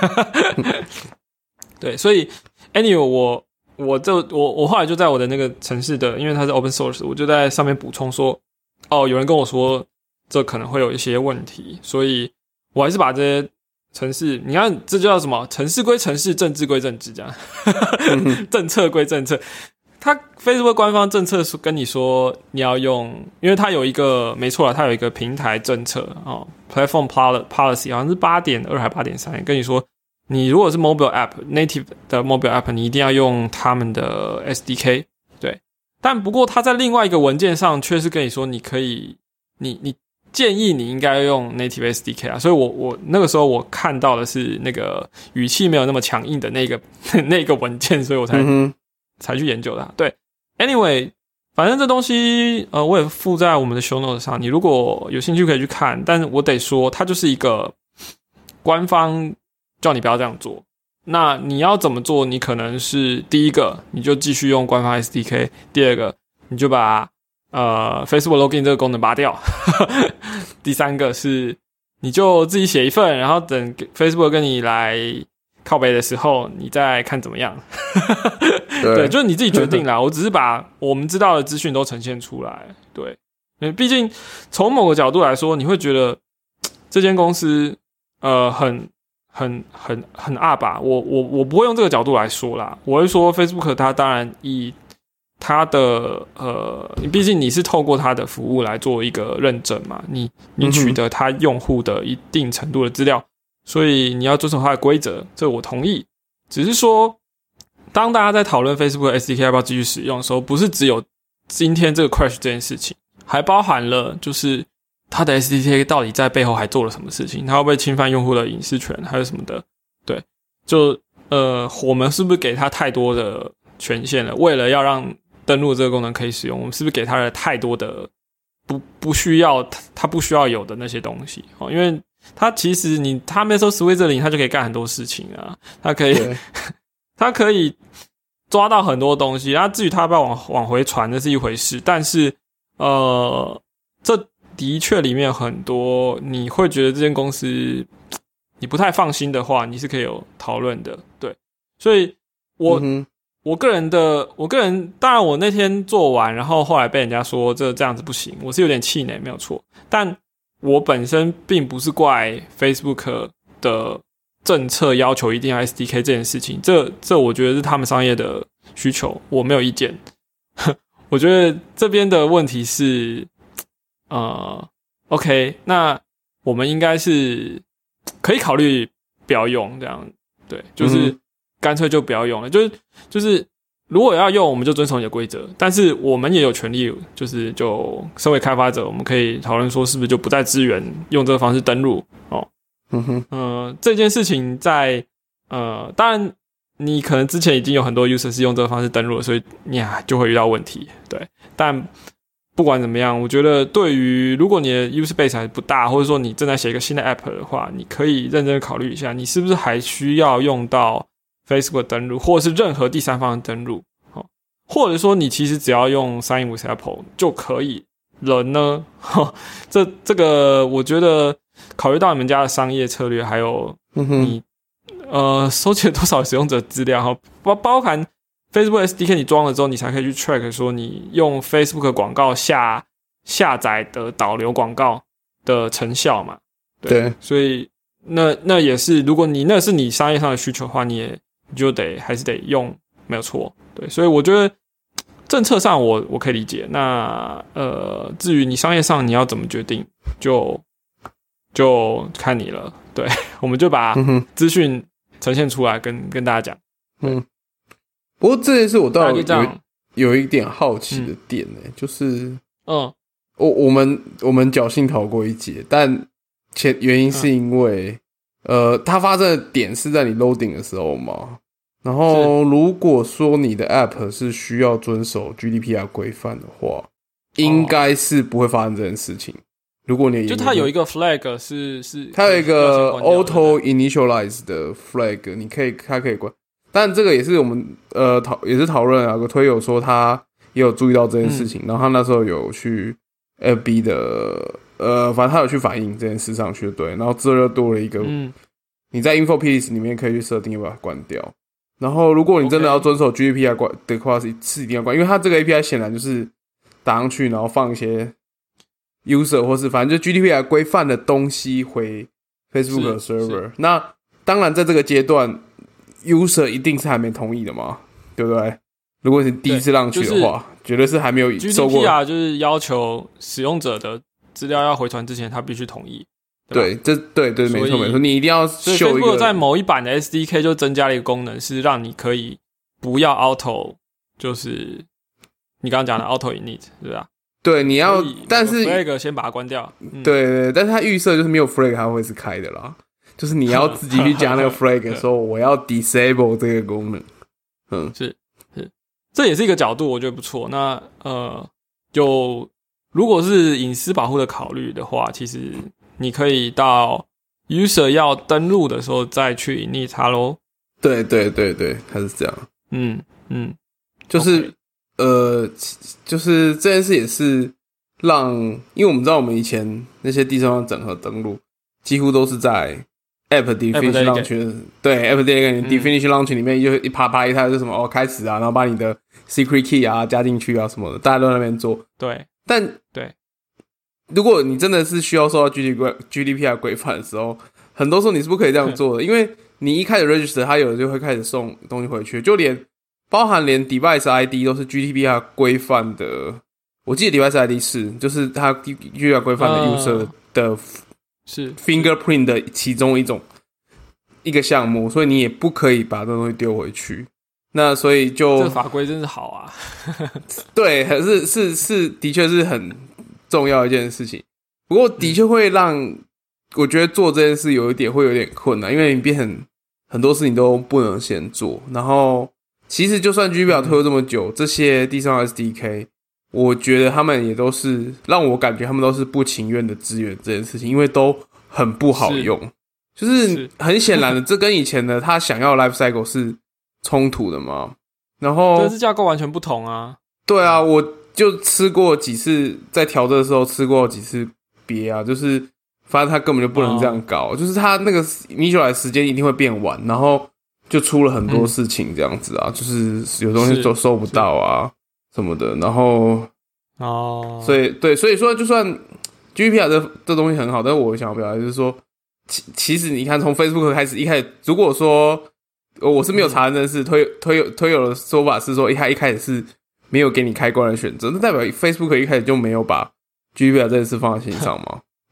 [SPEAKER 1] 对，所以 anyway 我。我就我我后来就在我的那个程式的，因为它是 open source， 我就在上面补充说，哦，有人跟我说这可能会有一些问题，所以我还是把这些程式，你看这就叫什么？程式归程式，政治归政治，这样，政策归政策。他 Facebook 官方政策跟你说你要用，因为它有一个没错啦，它有一个平台政策哦 ，platform policy 好像是八点二还八点三，跟你说。你如果是 mobile app native 的 mobile app， 你一定要用他们的 S D K， 对。但不过他在另外一个文件上却是跟你说，你可以，你你建议你应该用 native S D K 啊。所以我我那个时候我看到的是那个语气没有那么强硬的那个那个文件，所以我才、嗯、才去研究它。对 ，anyway， 反正这东西呃我也附在我们的 show notes 上，你如果有兴趣可以去看。但是我得说，它就是一个官方。叫你不要这样做，那你要怎么做？你可能是第一个，你就继续用官方 S D K； 第二个，你就把呃 Facebook Login 这个功能拔掉；第三个是，你就自己写一份，然后等 Facebook 跟你来靠北的时候，你再看怎么样。对, 对，就是你自己决定啦。我只是把我们知道的资讯都呈现出来。对，因为毕竟从某个角度来说，你会觉得这间公司呃很。很很很二吧，我我我不会用这个角度来说啦，我会说 Facebook 它当然以它的呃，毕竟你是透过它的服务来做一个认证嘛，你你取得它用户的一定程度的资料，所以你要遵守它的规则，这我同意。只是说，当大家在讨论 Facebook 的 S D K 要不要继续使用的时候，不是只有今天这个 crash 这件事情，还包含了就是。他的 S D K 到底在背后还做了什么事情？他会不会侵犯用户的隐私权，还有什么的？对，就呃，我们是不是给他太多的权限了？为了要让登录这个功能可以使用，我们是不是给他了太多的不不需要他不需要有的那些东西？哦，因为他其实你他没说 Switzerland， 他就可以干很多事情啊，他可以他可以抓到很多东西。那至于他要不要往往回传，那是一回事。但是呃，这。的确，里面很多你会觉得这间公司你不太放心的话，你是可以有讨论的，对。所以我，我、嗯、我个人的，我个人当然我那天做完，然后后来被人家说这这样子不行，我是有点气馁，没有错。但我本身并不是怪 Facebook 的政策要求一定要 S D K 这件事情，这这我觉得是他们商业的需求，我没有意见。我觉得这边的问题是。呃 ，OK， 那我们应该是可以考虑不要用这样，对，就是干脆就不要用了，就是就是如果要用，我们就遵守你的规则，但是我们也有权利，就是就身为开发者，我们可以讨论说是不是就不再支援用这个方式登录哦。
[SPEAKER 2] 嗯哼，
[SPEAKER 1] 呃，这件事情在呃，当然你可能之前已经有很多 user 是用这个方式登录了，所以你啊就会遇到问题，对，但。不管怎么样，我觉得对于如果你的 user base 还不大，或者说你正在写一个新的 app 的话，你可以认真考虑一下，你是不是还需要用到 Facebook 登录，或者是任何第三方的登录，或者说你其实只要用 Sign with Apple 就可以了呢？这这个我觉得考虑到你们家的商业策略，还有你、嗯、呃收集了多少使用者资料，包包含。Facebook S D K 你装了之后，你才可以去 track 说你用 Facebook 广告下下载的导流广告的成效嘛？对，
[SPEAKER 2] 对，
[SPEAKER 1] 所以那那也是，如果你那是你商业上的需求的话，你也你就得还是得用，没有错。对，所以我觉得政策上我我可以理解。那呃，至于你商业上你要怎么决定，就就看你了。对，我们就把资讯呈现出来跟，跟跟大家讲。
[SPEAKER 2] 嗯。不过这件事我倒有有一点好奇的点呢、欸嗯，就是，
[SPEAKER 1] 嗯，
[SPEAKER 2] 我我们我们侥幸逃过一劫，但前原因是因为，嗯、呃，它发生的点是在你 loading 的时候嘛。然后如果说你的 app 是需要遵守 G D P R 规范的话，应该是不会发生这件事情。如果你
[SPEAKER 1] 就它有一个 flag 是是，
[SPEAKER 2] 它有一个 auto initialize 的 flag， 你可以它可以关。但这个也是我们呃讨也是讨论啊，有个推友说他也有注意到这件事情，嗯、然后他那时候有去 F B 的呃，反正他有去反映这件事上去，对，然后之后又多了一个，嗯、你在 info piece 里面可以去设定要把它关掉。然后如果你真的要遵守 G D P R 的话，是是一定要关，因为它这个 A P I 显然就是打上去，然后放一些 user 或是反正就 G D P R 规范的东西回 Facebook 的 server。那当然在这个阶段。user 一定是还没同意的嘛，对不对？如果你第一次让去的话，就是、绝对是还没有收过。
[SPEAKER 1] G D P R 就是要求使用者的资料要回传之前，他必须同意。
[SPEAKER 2] 对，这对对没错没错，你一定要秀一个。
[SPEAKER 1] 在某一版的 S D K 就增加了一个功能，是让你可以不要 auto， 就是你刚刚讲的 auto init， 对吧？
[SPEAKER 2] 对，你要，但是
[SPEAKER 1] flag 先把它关掉。
[SPEAKER 2] 嗯、对对，但是它预设就是没有 flag 它会是开的啦。就是你要自己去加那个 flag 说我要 disable 这个功能，嗯，
[SPEAKER 1] 是是，这也是一个角度，我觉得不错。那呃，就如果是隐私保护的考虑的话，其实你可以到 user 要登录的时候再去 init 它咯。
[SPEAKER 2] 对对对对，它是这样。
[SPEAKER 1] 嗯嗯，
[SPEAKER 2] 就是、okay. 呃，就是这件事也是让，因为我们知道我们以前那些第三方整合登录几乎都是在。App definition launch 对 App definition launch 里面就一啪啪一台就什么哦开始啊，然后把你的 secret key 啊加进去啊什么的，大家都在那边做。
[SPEAKER 1] 对，
[SPEAKER 2] 但
[SPEAKER 1] 对，
[SPEAKER 2] 如果你真的是需要受到 G D P R 规范的时候，很多时候你是不可以这样做的，因为你一开始 register， 它有的就会开始送东西回去，就连包含连 device I D 都是 G D P R 规范的。我记得 device I D 是就是它 G D P R 规范的 user 的。呃
[SPEAKER 1] 是
[SPEAKER 2] fingerprint 的其中一种一个项目，所以你也不可以把这东西丢回去。那所以就
[SPEAKER 1] 这个法规真是好啊，
[SPEAKER 2] 对，是是是，的确是很重要一件事情。不过的确会让、嗯、我觉得做这件事有一点会有点困难，因为你变很很多事情都不能先做。然后其实就算 G D P R 推了这么久，嗯、这些第三方 S D K。我觉得他们也都是让我感觉他们都是不情愿的支援这件事情，因为都很不好用，是就是很显然的，这跟以前的他想要 life cycle 是冲突的嘛。然后
[SPEAKER 1] 这是架构完全不同啊。
[SPEAKER 2] 对啊，我就吃过几次，在调这的时候吃过几次鳖啊，就是发现他根本就不能这样搞，哦、就是他那个 initialize 时间一定会变晚，然后就出了很多事情这样子啊，嗯、就是有东西都收不到啊。什么的，然后
[SPEAKER 1] 哦，
[SPEAKER 2] 所以对，所以说就算 G D P R 这这东西很好，但是我想要表达就是说，其其实你看从 Facebook 开始，一开始如果说我是没有查这件事，推推推友的说法是说，他一开始是没有给你开关的选择，那代表 Facebook 一开始就没有把 G D P R 这件事放在心上嘛？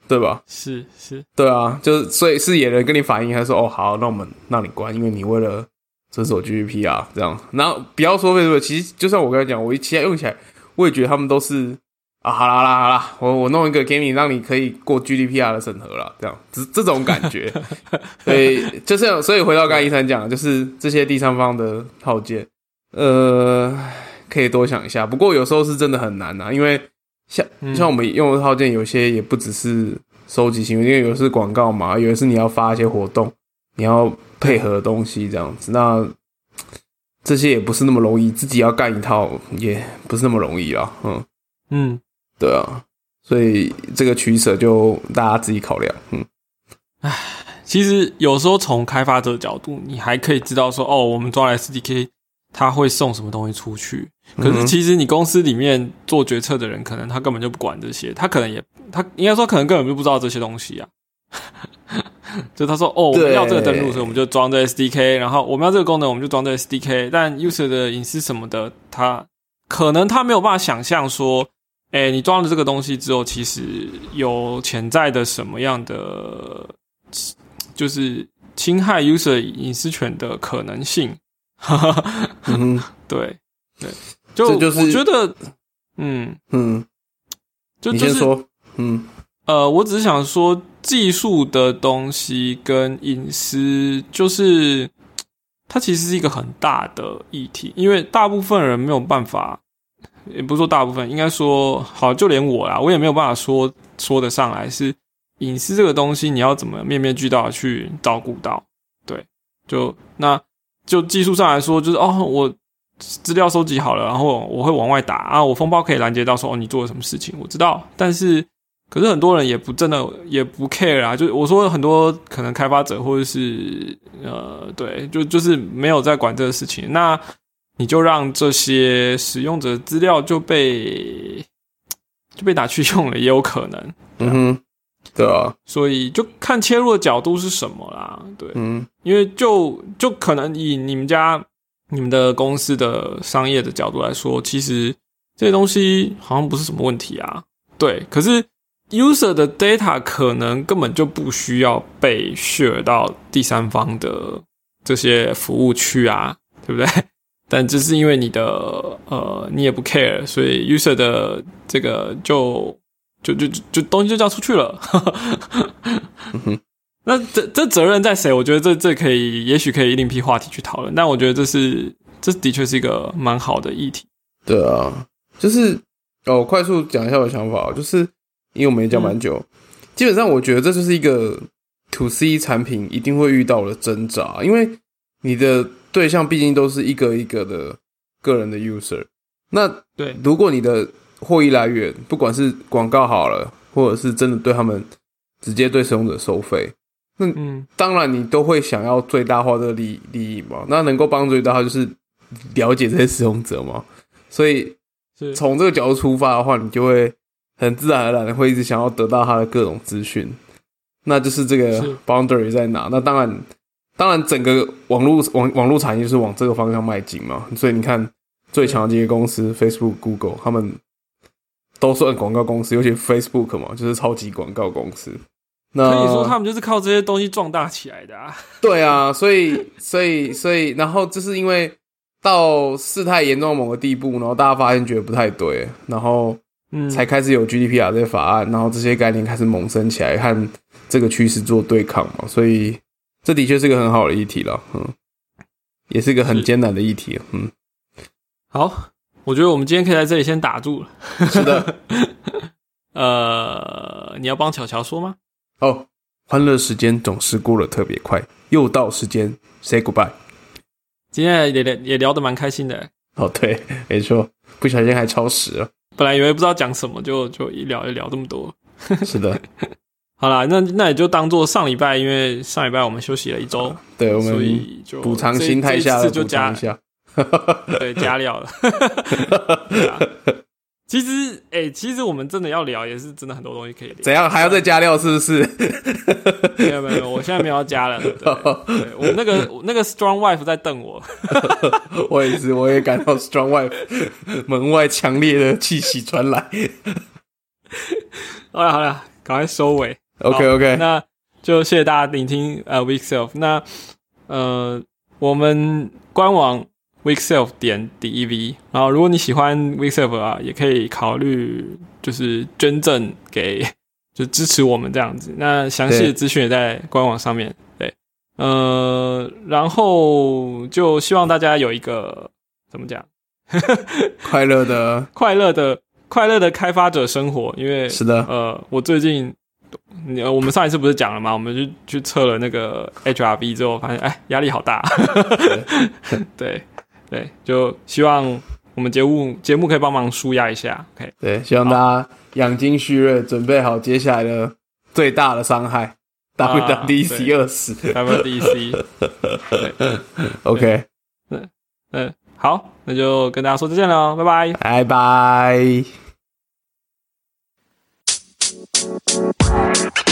[SPEAKER 2] 对吧？
[SPEAKER 1] 是是，
[SPEAKER 2] 对啊，就是所以是野人跟你反映，他说哦好，那我们让你关，因为你为了遵守 G D P R 这样。然后不要说为什么，其实就像我刚才讲，我其他用起来，我也觉得他们都是啊，好啦好啦好啦，我我弄一个给你，让你可以过 G D P R 的审核啦，这样这这种感觉。所以就是所以回到刚才一三讲的，就是这些第三方的套件，呃，可以多想一下。不过有时候是真的很难啊，因为。像像我们用的套件，有些也不只是收集行为，因为有的是广告嘛，有的是你要发一些活动，你要配合的东西这样子。那这些也不是那么容易，自己要干一套也不是那么容易啦。嗯嗯，对啊，所以这个取舍就大家自己考量。嗯，
[SPEAKER 1] 唉，其实有时候从开发者的角度，你还可以知道说，哦，我们抓来 S D K。他会送什么东西出去？可是其实你公司里面做决策的人，可能他根本就不管这些，他可能也他应该说可能根本就不知道这些东西啊。就他说哦，我们要这个登录，所以我们就装这 S D K， 然后我们要这个功能，我们就装这 S D K。但 user 的隐私什么的，他可能他没有办法想象说，哎，你装了这个东西之后，其实有潜在的什么样的，就是侵害 user 隐私权的可能性。嗯，对对，就
[SPEAKER 2] 就是
[SPEAKER 1] 我觉得，嗯嗯，就
[SPEAKER 2] 你先说，嗯
[SPEAKER 1] 呃，我只是想说，技术的东西跟隐私，就是它其实是一个很大的议题，因为大部分人没有办法，也不是说大部分，应该说好，就连我啦，我也没有办法说说得上来，是隐私这个东西，你要怎么面面俱到的去照顾到，对，就那。就技术上来说，就是哦，我资料收集好了，然后我会往外打啊，我封包可以拦截到说哦，你做了什么事情，我知道。但是，可是很多人也不真的也不 care 啊，就我说很多可能开发者或者是呃，对，就就是没有在管这个事情，那你就让这些使用者资料就被就被拿去用了，也有可能。
[SPEAKER 2] 嗯哼。对啊，
[SPEAKER 1] 所以就看切入的角度是什么啦，对，嗯，因为就就可能以你们家、你们的公司的商业的角度来说，其实这些东西好像不是什么问题啊，对，可是 user 的 data 可能根本就不需要被 share 到第三方的这些服务区啊，对不对？但只是因为你的呃你也不 care， 所以 user 的这个就。就就就东西就交出去了，嗯、那这这责任在谁？我觉得这这可以，也许可以另辟话题去讨论。但我觉得这是这的确是一个蛮好的议题。
[SPEAKER 2] 对啊，就是哦，我快速讲一下我的想法，就是因为我们也讲蛮久、嗯，基本上我觉得这就是一个 to C 产品一定会遇到的挣扎，因为你的对象毕竟都是一个一个的个人的 user， 那
[SPEAKER 1] 对，
[SPEAKER 2] 如果你的获益来源，不管是广告好了，或者是真的对他们直接对使用者收费，那当然你都会想要最大化这个利利益嘛。那能够帮助最大化就是了解这些使用者嘛。所以从这个角度出发的话，你就会很自然而然的会一直想要得到他的各种资讯。那就是这个 boundary 在哪？那当然，当然整个网络网网络产业就是往这个方向迈进嘛。所以你看最强的这些公司 ，Facebook、Google， 他们都算广告公司，尤其 Facebook 嘛，就是超级广告公司。那
[SPEAKER 1] 可以说他们就是靠这些东西壮大起来的啊。
[SPEAKER 2] 对啊，所以所以所以，然后就是因为到事态严重到某个地步，然后大家发现觉得不太对，然后才开始有 G D P R 这些法案，然后这些概念开始萌生起来，和这个趋势做对抗嘛。所以这的确是个很好的议题了，嗯，也是个很艰难的议题，嗯。
[SPEAKER 1] 好。我觉得我们今天可以在这里先打住了。
[SPEAKER 2] 是的，
[SPEAKER 1] 呃，你要帮巧巧说吗？
[SPEAKER 2] 哦，欢乐时间总是过得特别快，又到时间 say goodbye。
[SPEAKER 1] 今天也聊也聊得蛮开心的。
[SPEAKER 2] 哦，对，没错，不小心还超时了。
[SPEAKER 1] 本来以为不知道讲什么，就就一聊就聊这么多。
[SPEAKER 2] 是的。
[SPEAKER 1] 好啦，那那也就当做上礼拜，因为上礼拜我们休息了一周、啊，
[SPEAKER 2] 对，我们
[SPEAKER 1] 所以就
[SPEAKER 2] 补偿心态下的补偿一下。
[SPEAKER 1] 对，加料了。对啊，其实，哎、欸，其实我们真的要聊，也是真的很多东西可以聊。
[SPEAKER 2] 怎样还要再加料？是不是？
[SPEAKER 1] 没有没有，我现在没有要加了。对，对我那个那个 Strong Wife 在瞪我。
[SPEAKER 2] 我也是，我也感到 Strong Wife 门外强烈的气息传来。
[SPEAKER 1] 好了好了， 赶快收尾。
[SPEAKER 2] OK OK，
[SPEAKER 1] 那就谢谢大家聆听呃 Weak Self。那呃我们官网 weak self 点 D E V， 然后如果你喜欢 Weak Self 啊，也可以考虑就是捐赠给就支持我们这样子。那详细的资讯也在官网上面。对，呃，然后就希望大家有一个怎么讲
[SPEAKER 2] 快乐的
[SPEAKER 1] 快乐的快乐的开发者生活，因为
[SPEAKER 2] 是的，
[SPEAKER 1] 呃，我最近我们上一次不是讲了吗？我们就去测了那个 H R V 之后，发现哎压力好大。对对，就希望我们节目节目可以帮忙舒压一下。OK，
[SPEAKER 2] 对，希望大家养精蓄锐，准备好接下来的最大的伤害 W W D C 二十
[SPEAKER 1] W W D C。
[SPEAKER 2] OK，
[SPEAKER 1] 嗯嗯，好，那就跟大家说再见了，拜拜，
[SPEAKER 2] 拜拜。